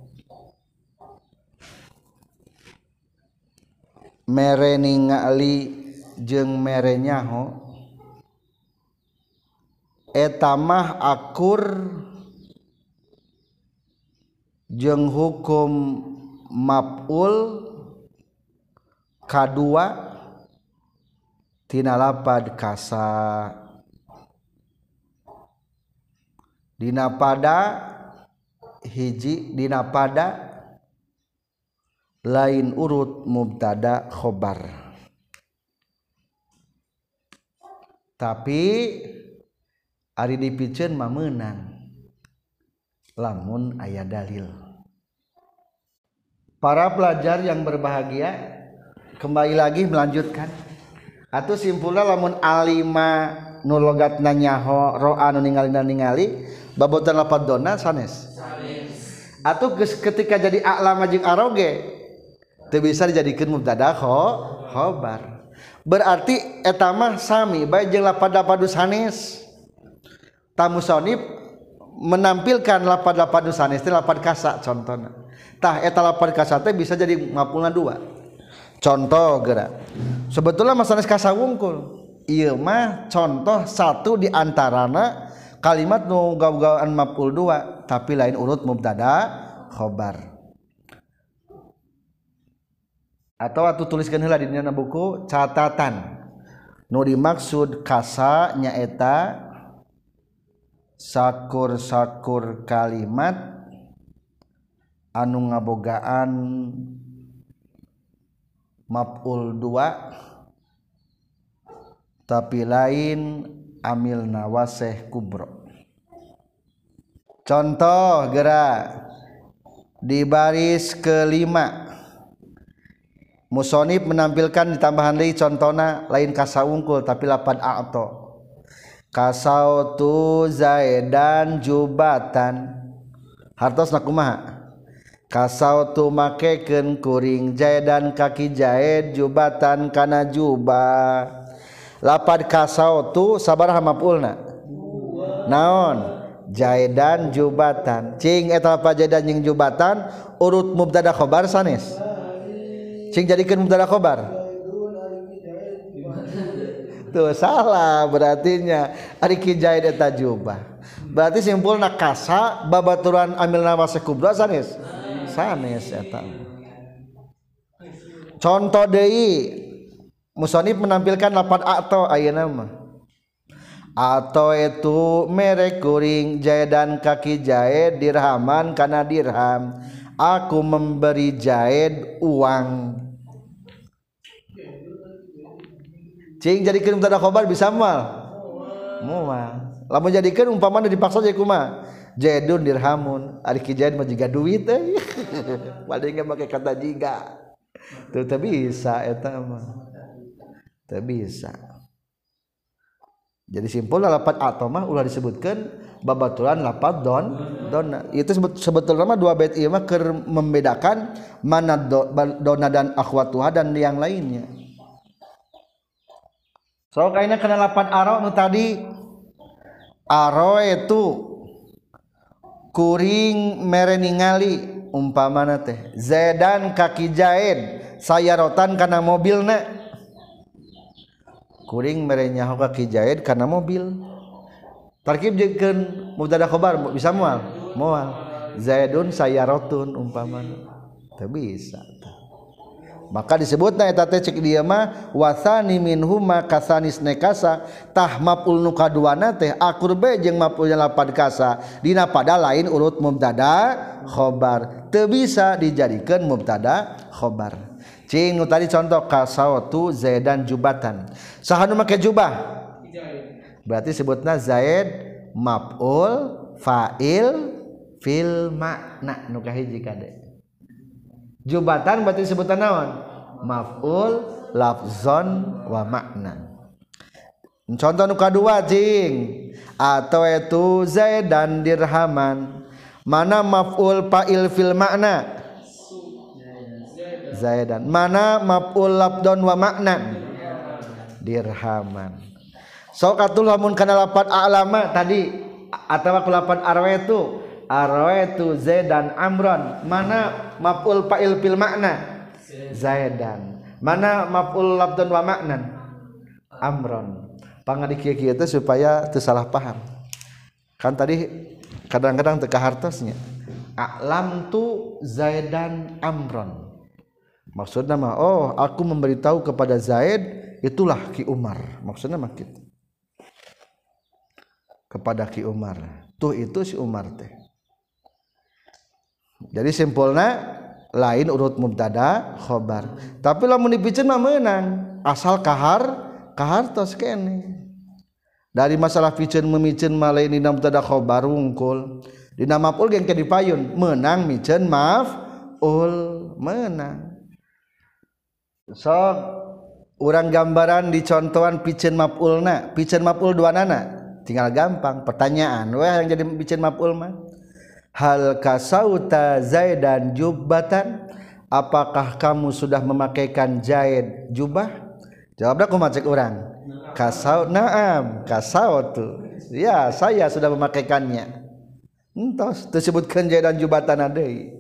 mere ningali jeung mere nyaho eta mah akur jeung hukum maf'ul kadua tina lapad kasa dina pada hiji dina pada lain urut mubtada khobar tapi ari dipikeun mah meunang lamun aya dalil. Para pelajar yang berbahagia, kembali lagi melanjutkan atuh simpulna lamun alima nu logatna nyaho ro'a nu ningali ningali babotan lapad donna sanes sanes atuh ketika jadi a'lama jeung aroge teu bisa dijadikeun mubtada khobar berarti eta mah sami bae jeung lapad lapad sanes tamu sonib menampilkan lapad-lapad sanes teh lapad kasa contohna tah eta lapad kasa teh bisa jadi maf'ulna dua contoh geura sebetulnya mah sanes kasa wungkul ieu mah contoh satu di antarana kalimat nu gaw-gawan maf'ul dua tapi lain urut mubtada khobar atau atuh tuliskeun heula di dina buku catatan nu dimaksud kasa nyaeta sakur-sakur kalimat anu ngabogaan maf'ul dua tapi lain amil nawaseh kubro. Contoh geura di baris kelima musonib menampilkan ditambahan deui contohna lain kasa wungkul tapi lapad a'to kasautu zaidan jubatan hartosna kumaha kasautu makekeun kuring zaidan kaki zaid jubatan kana jubah lapad kasautu sabaraha maf'ulna naon zaidan jubatan cing eta lapad zaidan jeung jubatan urut mubtada khobar sanes cing jadikeun mubtada khobar tuh salah berartinya ari ki zaid eta jubah berarti simpulna kasa babaturan amil nawasih kubra sanes sanes eta contoh deui musonib menampilkan lapad a'to ayeuna mah a'to itu merek kuring zaidan kaki zaid dirhaman kana dirham aku memberi zaid uang cing jadikeun mubtada khobar bisa moal moal lamun jadikeun umpamana dipaksa jadi kumaha zaidun dirhamun ari ki zaid mah jiga duit teh paling make kata jiga teu teu bisa eta mah teu bisa jadi simpulna lapad atau mah ulah disebutkeun babaturan lapad don donna itu sebetulnya mah dua bait ieu mah keur membedakan mana donna dan akhwatuha dan yang lainnya. So kaina kana lapad aro nu tadi aro itu kuring mere ningali umpamana teh zaidan kaki zaid sayarotan kana mobilna kuring mere nyaho ka Ki Zaid kana mobil tarkib jikeun mubtada khobar bisa moal moal Zaidun sayaratun umpamana teu bisa maka disebutna eta teh cek dieu mah wasani minhuma kasanis nekasa tah maf'ul nu kaduana teh akur be jeung maf'ul lapad kasa dina pada lain urut mubtada khobar teu bisa dijadikeun mubtada khobar cing nu tadi contoh kasautu zaidan jubatan saha nu make jubah berarti sebutna zaid maf'ul fa'il fil makna nu kahiji kade jubatan berarti sebutan naon maf'ul lafzon wa makna contoh nu kadua cing atau itu zaidan dirhaman mana maf'ul fa'il fil makna zaidan mana maf'ul lafzon wa makna dirhaman sok atuh lamun kana lafaz a'lama tadi atawa ku lafaz arwaitu arwaitu zaidan amron mana maf'ul fa'il fil makna zaidan mana maf'ul lafdhan wa maknan amron pangadi kieu-kieu teh supaya teu salah paham kan tadi kadang-kadang teu kahartosnya a'lam tu zaidan amron maksudna mah oh aku memberitahu kepada Zaid itulah Ki Umar maksudna mah kitu kepada Ki Umar tuh itu si Umar teh jadi simpulna lain urut mubtada khobar tapi lamun dipikeun mah meunang asal kahar kahartos kene dari masalah pikeun memikeun mah lain dina mubtada khobar wungkul dina maf'ul ge dipayun meunang mikeun maf'ul meunang sok urang gambaran di contohan pikeun maf'ulna pikeun maf'ul duanana tinggal gampang pertanyaan weh yang jadi pikeun maf'ul mah hal kasauta zaidan jubbatan apakah kamu sudah memakaikan Zaid jubah jawabnya kumaha cek urang kasau naam kasautu ya saya sudah memakaikannya entos disebutkeun Zaidan jubatan deui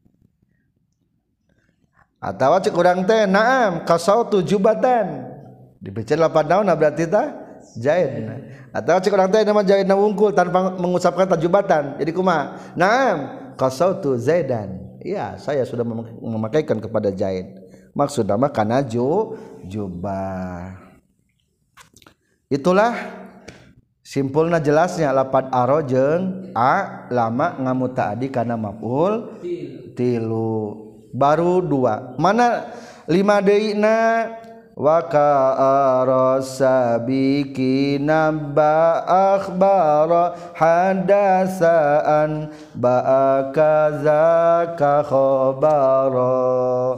atawa cek urang teh naam kasautu jubatan dipeceun lapan naon berarti tah Zaid atau cik orang teh nama Zaid na wungkul tanpa mengucapkan tajubatan jadi kumaha naam qasautu Zaidan iya saya sudah memakaikan kepada Zaid maksudna mah kana ju jubah itulah simpulna jelasnya lapad aro jeung a lama ngamutaadi kana maf'ul tilu baru dua mana lima deuna wa ka'ara sabiqina ba akhbara hadasaan ba kaza ka khabara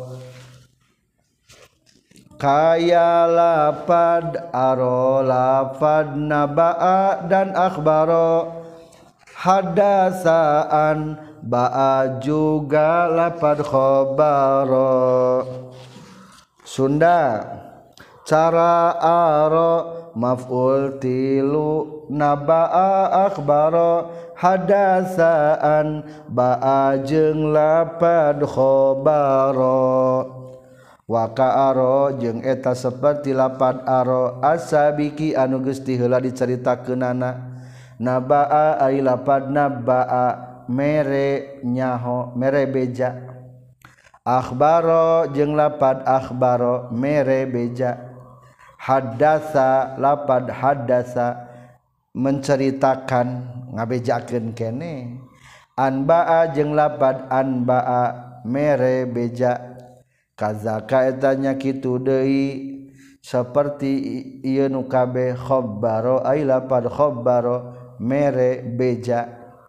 kaya lapad aro lapad naba'a dan akhbara hadasaan ba'a juga lapad khabara Sunda cara aro maf'ul tilu naba'a akhbara hadasaan ba'a jeung lapad khabara wa ka'aro jeung eta saperti lapad aro asabiki anu geus ti heula dicaritakeunana naba'a ai lapad naba'a mere nyaho mere beja akhbaro jeung lapad akhbaro mere beja haddasa lapad haddasa menceritakan ngabejakeun kene anba'a jeung lapad anba'a mere beja kazaka etanya kitu deui saperti ieu nu kabeh khabbaro ai lapad khabbaro mere beja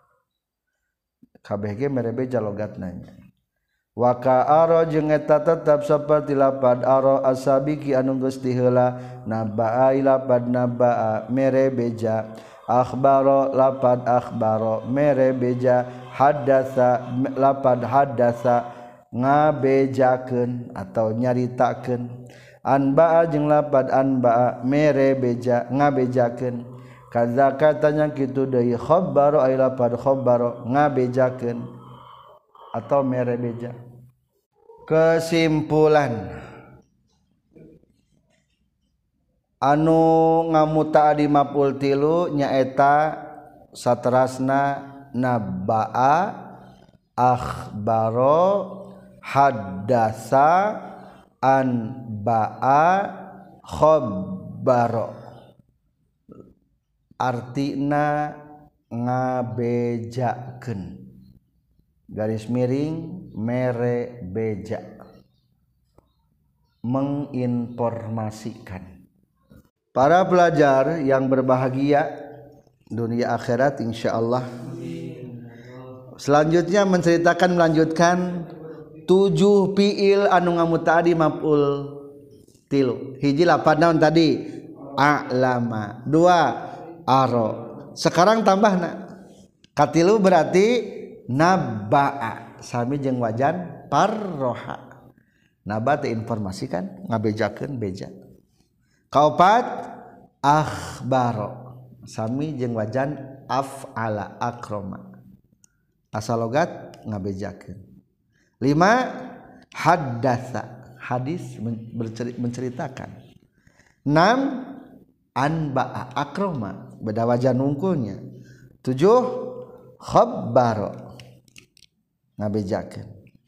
kabeh ge mere beja logatna wa ka'aro jeung eta tetep saperti lapad aro asabiki anu geus ti heula naba'a lapad naba'a mere beja akhbaro lapad akhbaro mere beja haddasa lapad haddasa ngabejakeun atau nyaritakeun anba'a jeung lapad anba'a mere beja ngabejakeun kadzaka tanya kitu deui khabbaro ai lapad khabbaro ngabejakeun atau mere beja Kesimpulan anu ngamuta di maf'ul tilu nyaeta saterasna nabba'a, akhbaro, haddasa, anba'a, khabbaro. Artina ngabejakeun garis miring mere beja menginformasikan. Para pelajar yang berbahagia dunia akhirat insyaallah. Selanjutnya menceritakan melanjutkan tujuh fiil anu ngamuta'adi maf'ul tilu. Hiji lapan naon tadi? A'lama. Dua aro. Sekarang tambahna. Katilu berarti nabba'a. Sami jeung wajan parroha. Naba teh informasikan ngabejakeun beja. Kaopat akhbaro. Sami jeung wajan af'ala akroma. Asal logat ngabejakeun. Lima haddatsa. Hadis menceritakan. Enam anba'a akroma. Beda wajan nungkulnya. Tujuh khabbaro. Ngabejakeun.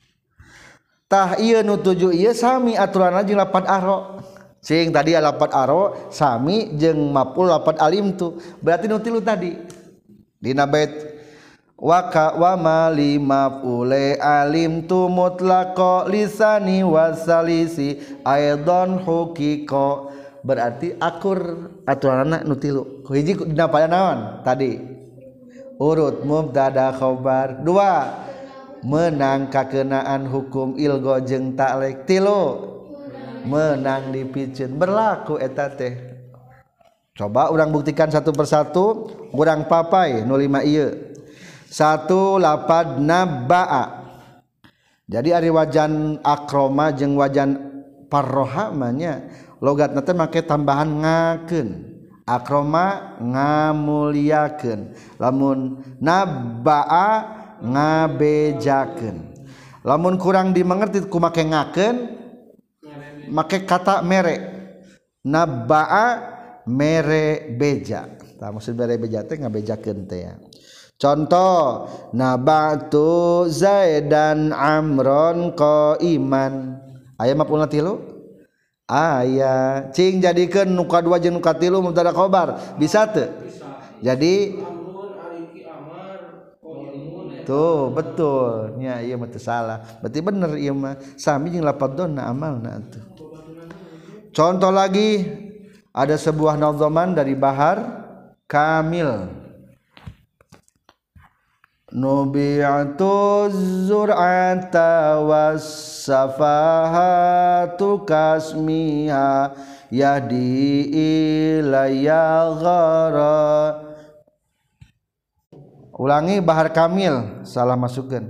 Tah ieu nu tujuh ieu sami aturanna jeung lapan aro. Sing tadi lapan aro sami jeung maf'ul lapan alim tu. Berarti nu tilu tadi. Dina bait wa ka wa ma li maf'ule alim tu mutlaqo lisani wasalisi aidan huqiqo. Berarti akur aturanna nu tilu. Hiji dina pada naon? Tadi urut mubtada khabar. Dua menang kakenaan hukum ilgo jeung ta'lek. Tilu menang dipikeun berlaku eta teh. Coba urang buktikan satu persatu, urang papai nu lima ieu. Satu lapad nabba'a. Jadi ari wajan akroma jeung wajan parroha manya logatna teh make tambahan ngakeun. Akroma ngamuliakeun. Lamun nabba'a ngabejakeun. Lamun kurang dimengerti ku make ngakeun make kata mere. Nabba'a mere beja. Tah maksud mere beja teh ngabejakeun teh ya. Contoh nabatu zaidan amron qaiman. Aya maf'ulna tilu? Aya. Cing jadikeun nu kadua jeung nu katilu mubtada khabar. Bisa teu? Jadi tuh betul nya ieu mah teu salah. Berarti bener ieu mah sami jeung lafadz donna amalna atuh. Contoh lagi ada sebuah nadzaman dari Bahar Kamil. Nubi'atu zur'ata was-safahatu kasmiha yahdi ilayya ghara. Ulangi Bahar Kamil, salah masukkan.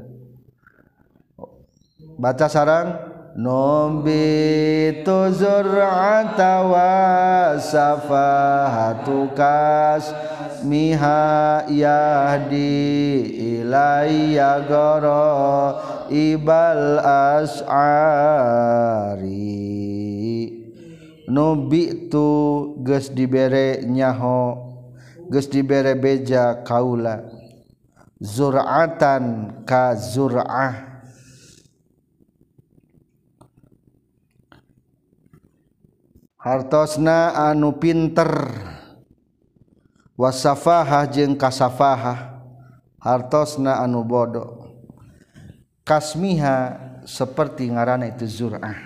Baca sarang. Nubi'atu zur'ata was-safahatu kasmiha yahdi ilayya ghara ibal as'ari. Nubi'tu geus dibere nyaho, geus dibere beja kaula. Zur'atan ka zur'ah. Hartosna anu pinter. Wasafahah jeung kasafahah. Hartosna anu bodoh. Kasmiha seperti ngaranna itu zur'ah.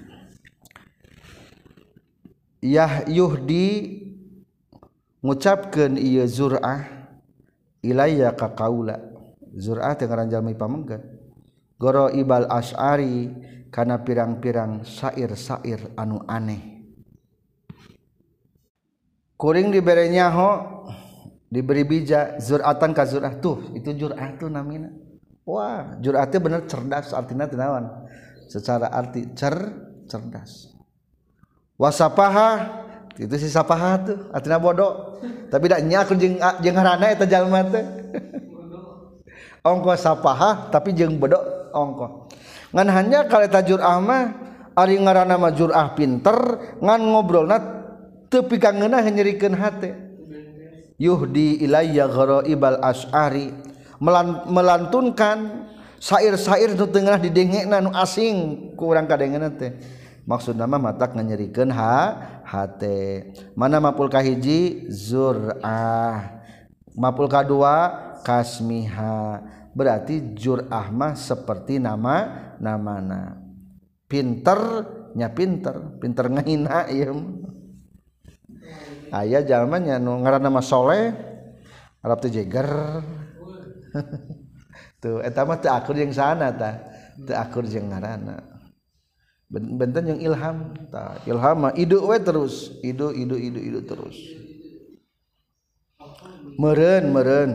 Yah yuhdi ngucapkeun ieu zur'ah ilayya ka kaula. Zur'ah teh ngaran jalmi pamengget. Goro ibal asy'ari kana pirang-pirang syair-syair anu aneh. Kuring dibere nyaho diberi bija zur'atan ka zur'ah tuh itu jur'ah tuh namina. Wah, jur'ah teh bener cerdas artina teh naon? Secara arti cer cerdas. Wasapaha itu si sapaha tuh artina bodoh. Tapi da nya aku jeung jeung ngaranna eta jalma teh. Ongko sapaha tapi jeung bodoh ongkoh ngan hanya kalau jur'ah mah ari ngaranna mah jur'ah pinter ngan ngobrolna teu pikangeuna nyerikeun hate yuhdi ilayya gharaibal asy'ari melantunkan syair-syair nu teu ngeunah didengena nu asing ku urang kadengeuna teh maksudna mah matak nganyerikeun ha hate mana mapul kahiji zur'ah mapul kadua kasmiha berarti jur'ah mah seperti nama namana pinter nya pinter pinter ngahina ieu aya jalma nya nu ngaranna mah soleh arab teh jeger tuh eta mah teu akur jeung sana tah teu akur jeung ngaranna benten yang ilham tah ilham mah idu we terus idu idu idu idu terus meureun meureun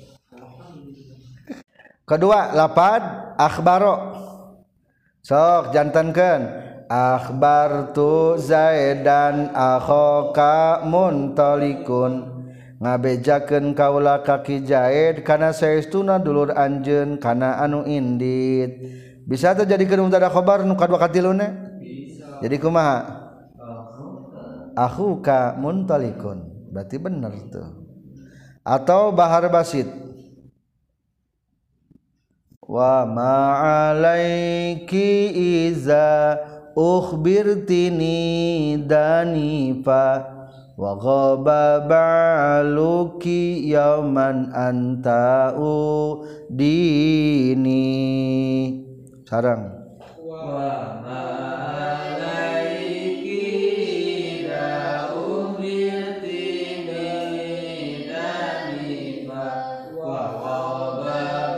kedua lapad akhbaro sok jantankeun akhbartu zaidan akhoka muntalikun ngabejakeun kaula kaki Zaid kana saestuna dulur anjeun kana anu indit bisa teh jadikeun mubtada khabar nu kadua katiluna bisa jadi kumaha akhuka muntalikun berarti bener tuh atau bahar basit wa ma'alaiki iza ukhbirtini danifa wa ghaba ba'luki yauman anta'u dini sarang wa ma'alaiki iza ukhbirtini danifa wa ghaba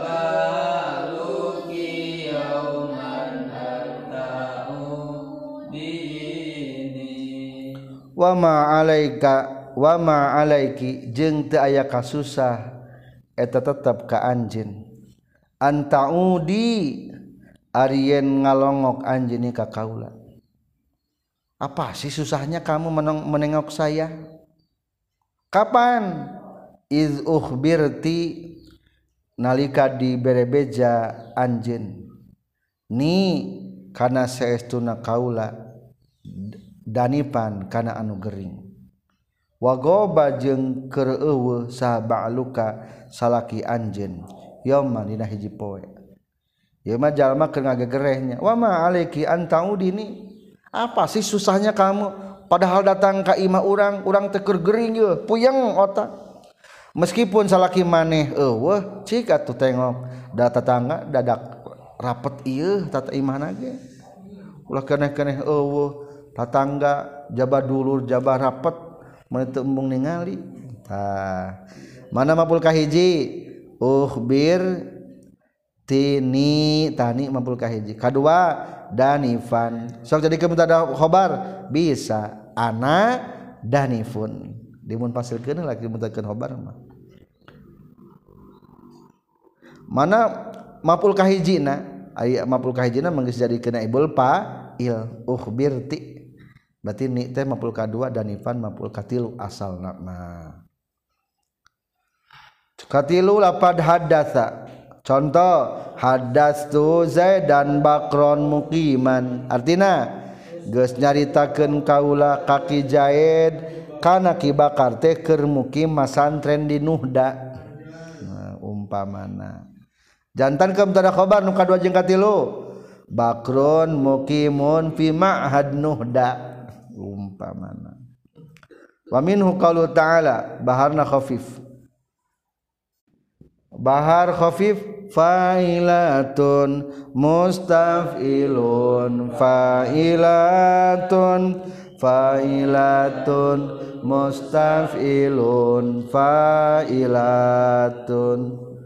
wa ma alaika wa ma alaiki jeung teu aya kasusah eta tetep ka anjeun antaudi arieun ngalongok anjeun ka kaula apa sih susahnya kamu menengok saya kapan iz ukhbirti nalika diberebeja anjeun ni kana saestuna kaula danipan kana anu gering wagoba jeung keur eueuh saha ba'luka salaki anjeun yauman dina hiji poe ieu mah jalma keur ngagegerehnya wa ma alaiki antaudini apa sih susahnya kamu padahal datang ka imah urang urang teh keur gering yeuh puyeng otak meskipun salaki maneh eueuh cik atuh tengok da tetangga dadak rapet ieu tata imahna ge ulah keneh-keneh eueuh tatangga jabah dulur jabah rapet mun teu embung ningali tah mana mapul kahiji ukhbir tini tani mapul kahiji kadua danifan sok jadi mubtada khabar bisa ana danifun dimun pasilkeun lagi mubtadakeun khabar mah mana mapul kahijina aya mapul kahijina manggeus jadikeun ibul fa'il ukhbirti berarti ni teh mapul kadua danifan mapul katilu asalna nah katilu lapad hadatsa contoh hadastu Zaidan bakron muqiman artina geus nyaritakeun kaula kaki Zaid kana Ki Bakar teh keur mukim masantren di Nuhda nah umpamana jantan ke mubtada khabar nu kadua jeung katilu bakrun muqimun fi ma'had Nuhda umpamana wa minhu qaulu ta'ala baharna khafif bahar khafif fa'ilatun mustaf'ilun fa'ilatun fa'ilatun mustaf'ilun fa'ilatun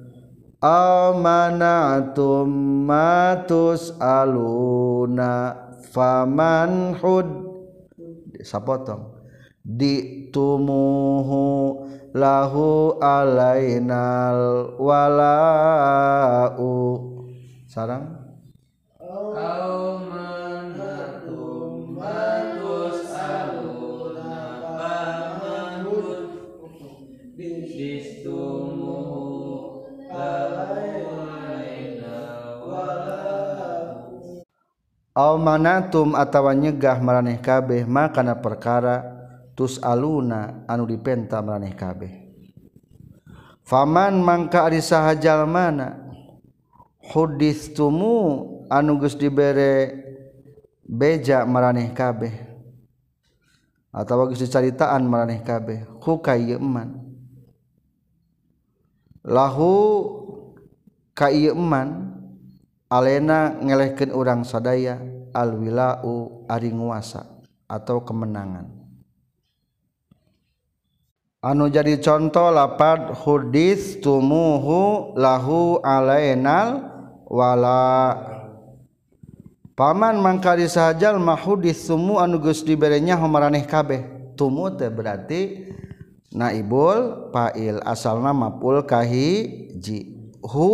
amanatum matus aluna faman hud sapotong ditumuhu lahu alainal walau sarang amanatum matus aluna faman ditumuhu lahu alainal walau au manatum atawa nyegah maraneh kabeh makana perkara tus aluna anu dipenta maraneh kabeh. Faman mangka ari saha jalmana huditsumu anu geus dibere beja maraneh kabeh atawa geus dicaritaan maraneh kabeh ku kaieu eman lahu ka ieu eman alena ngelehkeun urang sadaya alwilau ari nguasa atau kemenangan. Anu jadi contoh lapad hudits tumuhu lahu alainal wala. Paman mangkari sahajal mahudits tumu anu geus diberenya maraneh kabeh. Tumu teh berarti naibul fa'il asalna maf'ul kahiji. Hu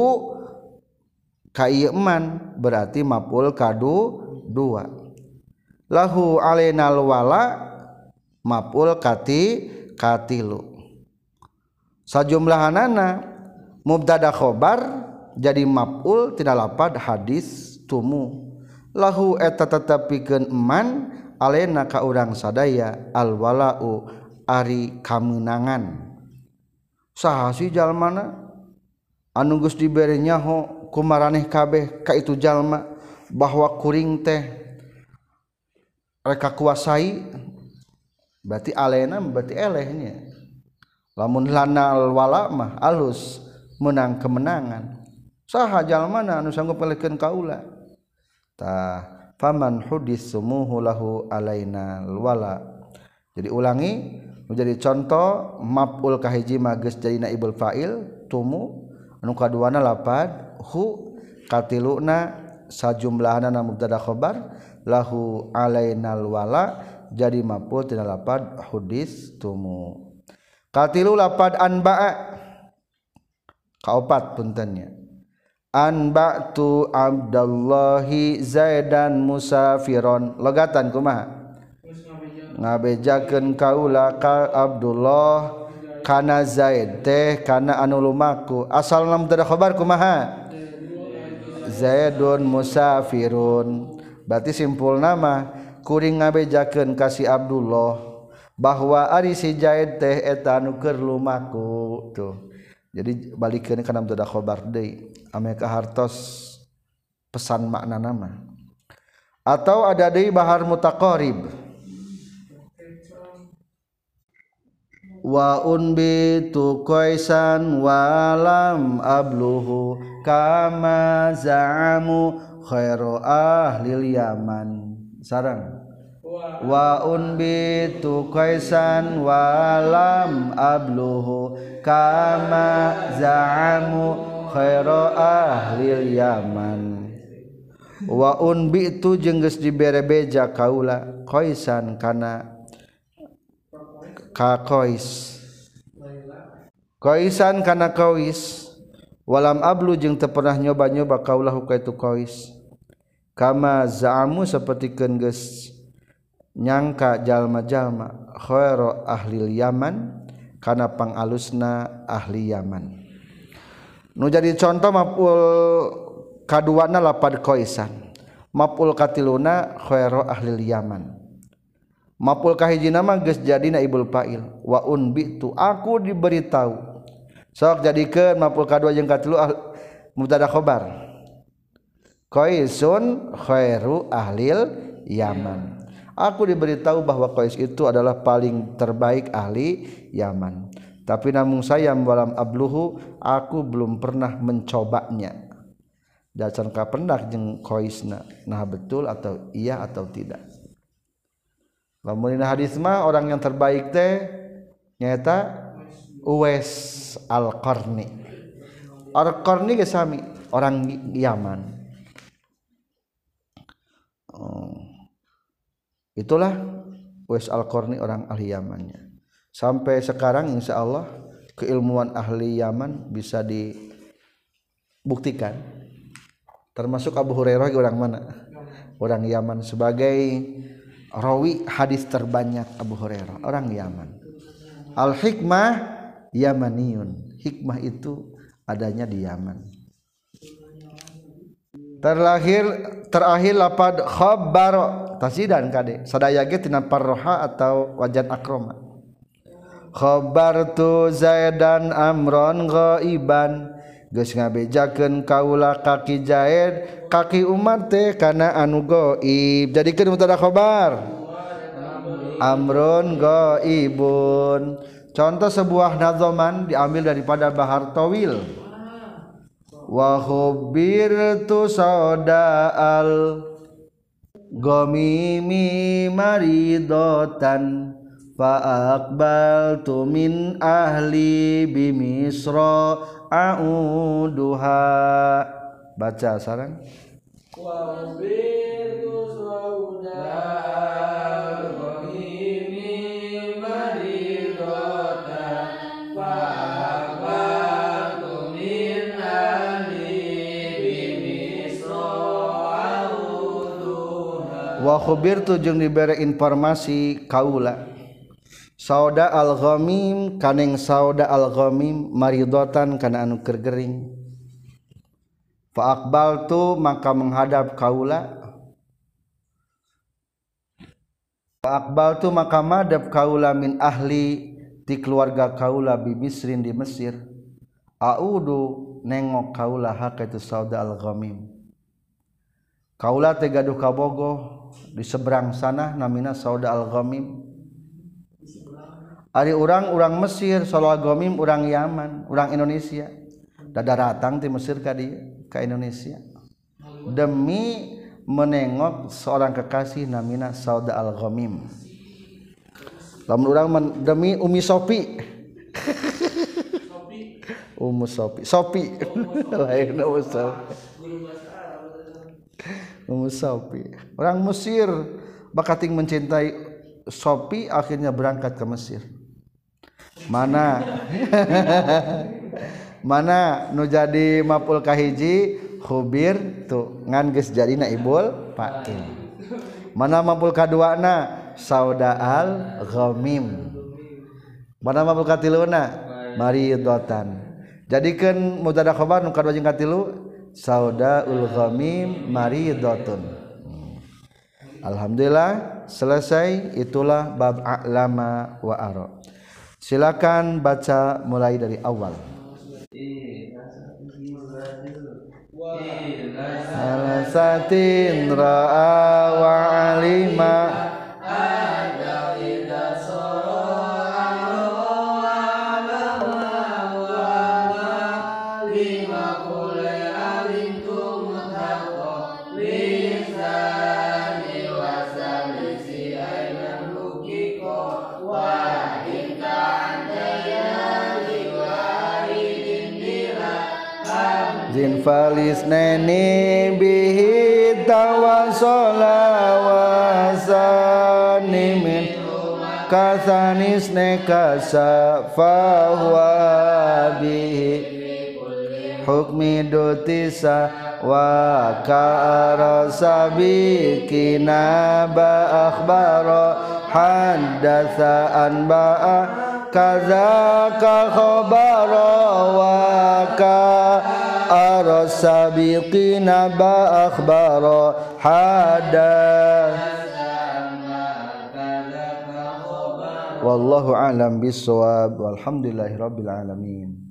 ka ieu eman berarti maf'ul kadu dua. Lahu alainal wala maf'ul kati katilu. Sajumlahanana mubtada khobar jadi maf'ul tina lapad hadis tumu. Lahu eta tetepikeun eman alena ka urang sadaya alwalau ari kamenangan. Saha si jalmana anu geus dibere nyaho ku maraneh kabeh ka itu jalma bahwa kuring teh reka kuasai berarti alena berarti elehnya. Lamun lana wala mah alus menang kemenangan. Saha jalmana anu sanggup elehkeun kaula? Tah faman huditsumuhu lahu alaina wala. Jadi ulangi menjadi contoh maf'ul kahiji mah geus jadi naibul fa'il tumu anu kaduana lapad hu katiluna sajumlahna mubtada khabar lahu alainal wala jadi maf'ul tina lapad hudits tumu. Katilu lapad anba'a kaopat puntennya anba'tu abdallahi zaidan musafiron logatan kumaha ngabejakeun kaula ka Abdullah kana Zaid teh kana anu lumaku asalna mubtada khabar kumaha zaidun musafirun berarti simpul nama kuring ngabejakeun kasih Abdullah bahwa ari si Zaid teh eta anu keur lumaku tuh. Jadi balikeun kana mubtada khabar deui ame kahartos pesan makna nama. Atau ada deui bahar mutaqarib wa unbitu qaisan walam abluhu kama za'amu khairu ahlil yaman sarang wa unbitu qaisan walam abluhu kama za'amu khairu ahlil yaman wa unbitu jeung geus dibere beja kaula qaisan kana ka qais qaisan kana qais walam ablu jeung teu pernah nyoba-nyoba kaulahu ka itu qais kama za'amu sapertikeun geus nyangka jalma-jalma khairu ahlil yaman kana pangalusna ahli Yaman. Nu jadi contoh maf'ul kaduana lapad qaisan maf'ul katiluna khairu ahlil yaman maf'ul kahijina mah geus jadi naibul fa'il wa unbitu aku diberitahu sok jadikeun maf'ul kadua jeung katilu ah, mubtada khabar qaisun khairu ahlil yaman. Aku diberitahu bahwa Qais itu adalah paling terbaik ahli Yaman. Tapi namun saya walam abluhu aku belum pernah mencobanya. Dacan ka pendak jeung Qaisna. Nah betul atau iya atau tidak. Lamun dina hadis mah orang yang terbaik teh nyaeta Uwais Al-Qarni. Al-Qarni ge sami orang Yaman. Oh. Itulah Uwais Al-Qarni orang ahli Yamannya. Sampai sekarang insya Allah keilmuan ahli Yaman bisa dibuktikan. Termasuk Abu Hurairah orang mana? Orang Yaman sebagai rawi hadis terbanyak Abu Hurairah orang Yaman. Al-hikmah Yamaniyun. Hikmah itu adanya di Yaman. terlahir terakhir lapad khabar tasidan kade sadaya ge tina parroha atau wajan akroma. Khabartu Zaidan amron ghaiban geus ngabejakeun kaula kaki Zaid kaki Umar teh kana anu gaib jadikeun mubtada khabar amrun ghaibun. Contoh sebuah nazoman diambil daripada Bahar Tawil. Wa khubbirtu sauda'al ghamimi maridatan fa aqbaltu min ahli bimisra a'uduha. Baca sareng. Wa khubbirtu sauda'al ghamimi maridatan fa aqbaltu min ahli bimisra a'uduha. Wa khubirtu jeung dibere informasi kaula sauda al-ghamim kaneng sauda al-ghamim maridatan kana anu keur gering. Fa aqbaltu maka menghadap kaula fa aqbaltu maka madhab kaula min ahli ti keluarga kaula bi Misrin di Mesir. Audu nengok kaula hakatu sauda al-ghamim. Kaula teh gaduh kabogoh di seberang sana namina sauda al-ghamim. Ari urang-urang Mesir, sauda al-ghamim urang Yaman, urang Indonesia. Dadaratang ti Mesir ka dieu ka Indonesia. Demi menengok seorang kekasih namina sauda al-ghamim. Lamun urang demi Umi Sopi. Ummu Sopi. Sopi. Lain Ummu Sopi. Ummu Sopi. Orang Mesir bakating mencintai Sopi akhirnya berangkat ke Mesir. Mana mana nu jadi maf'ul kahiji khubir tu ngan geus jadina ibul fa'il. Mana maf'ul kaduana sauda al-ghamim. Mana maf'ul katiluna maridatan. Jadikeun mubtada khabar nu kadua jeung katilu saudaul ghamim maridatun. Alhamdulillah selesai. Itulah bab a'lama wa ara. Silakan baca mulai dari awal. Alasatin ra'a wa alima ada ida zin falis neni bihi tawassola wasani min kasanis nekasa fahuwa bihi hukmi dutisa wa ka'arasa bikina ba akhbara haddasa anba'a kaza ka khabara wa ka arasabiqina ba akhbara hada. Wallahu a'lam bissawab walhamdulillahi rabbil alamin.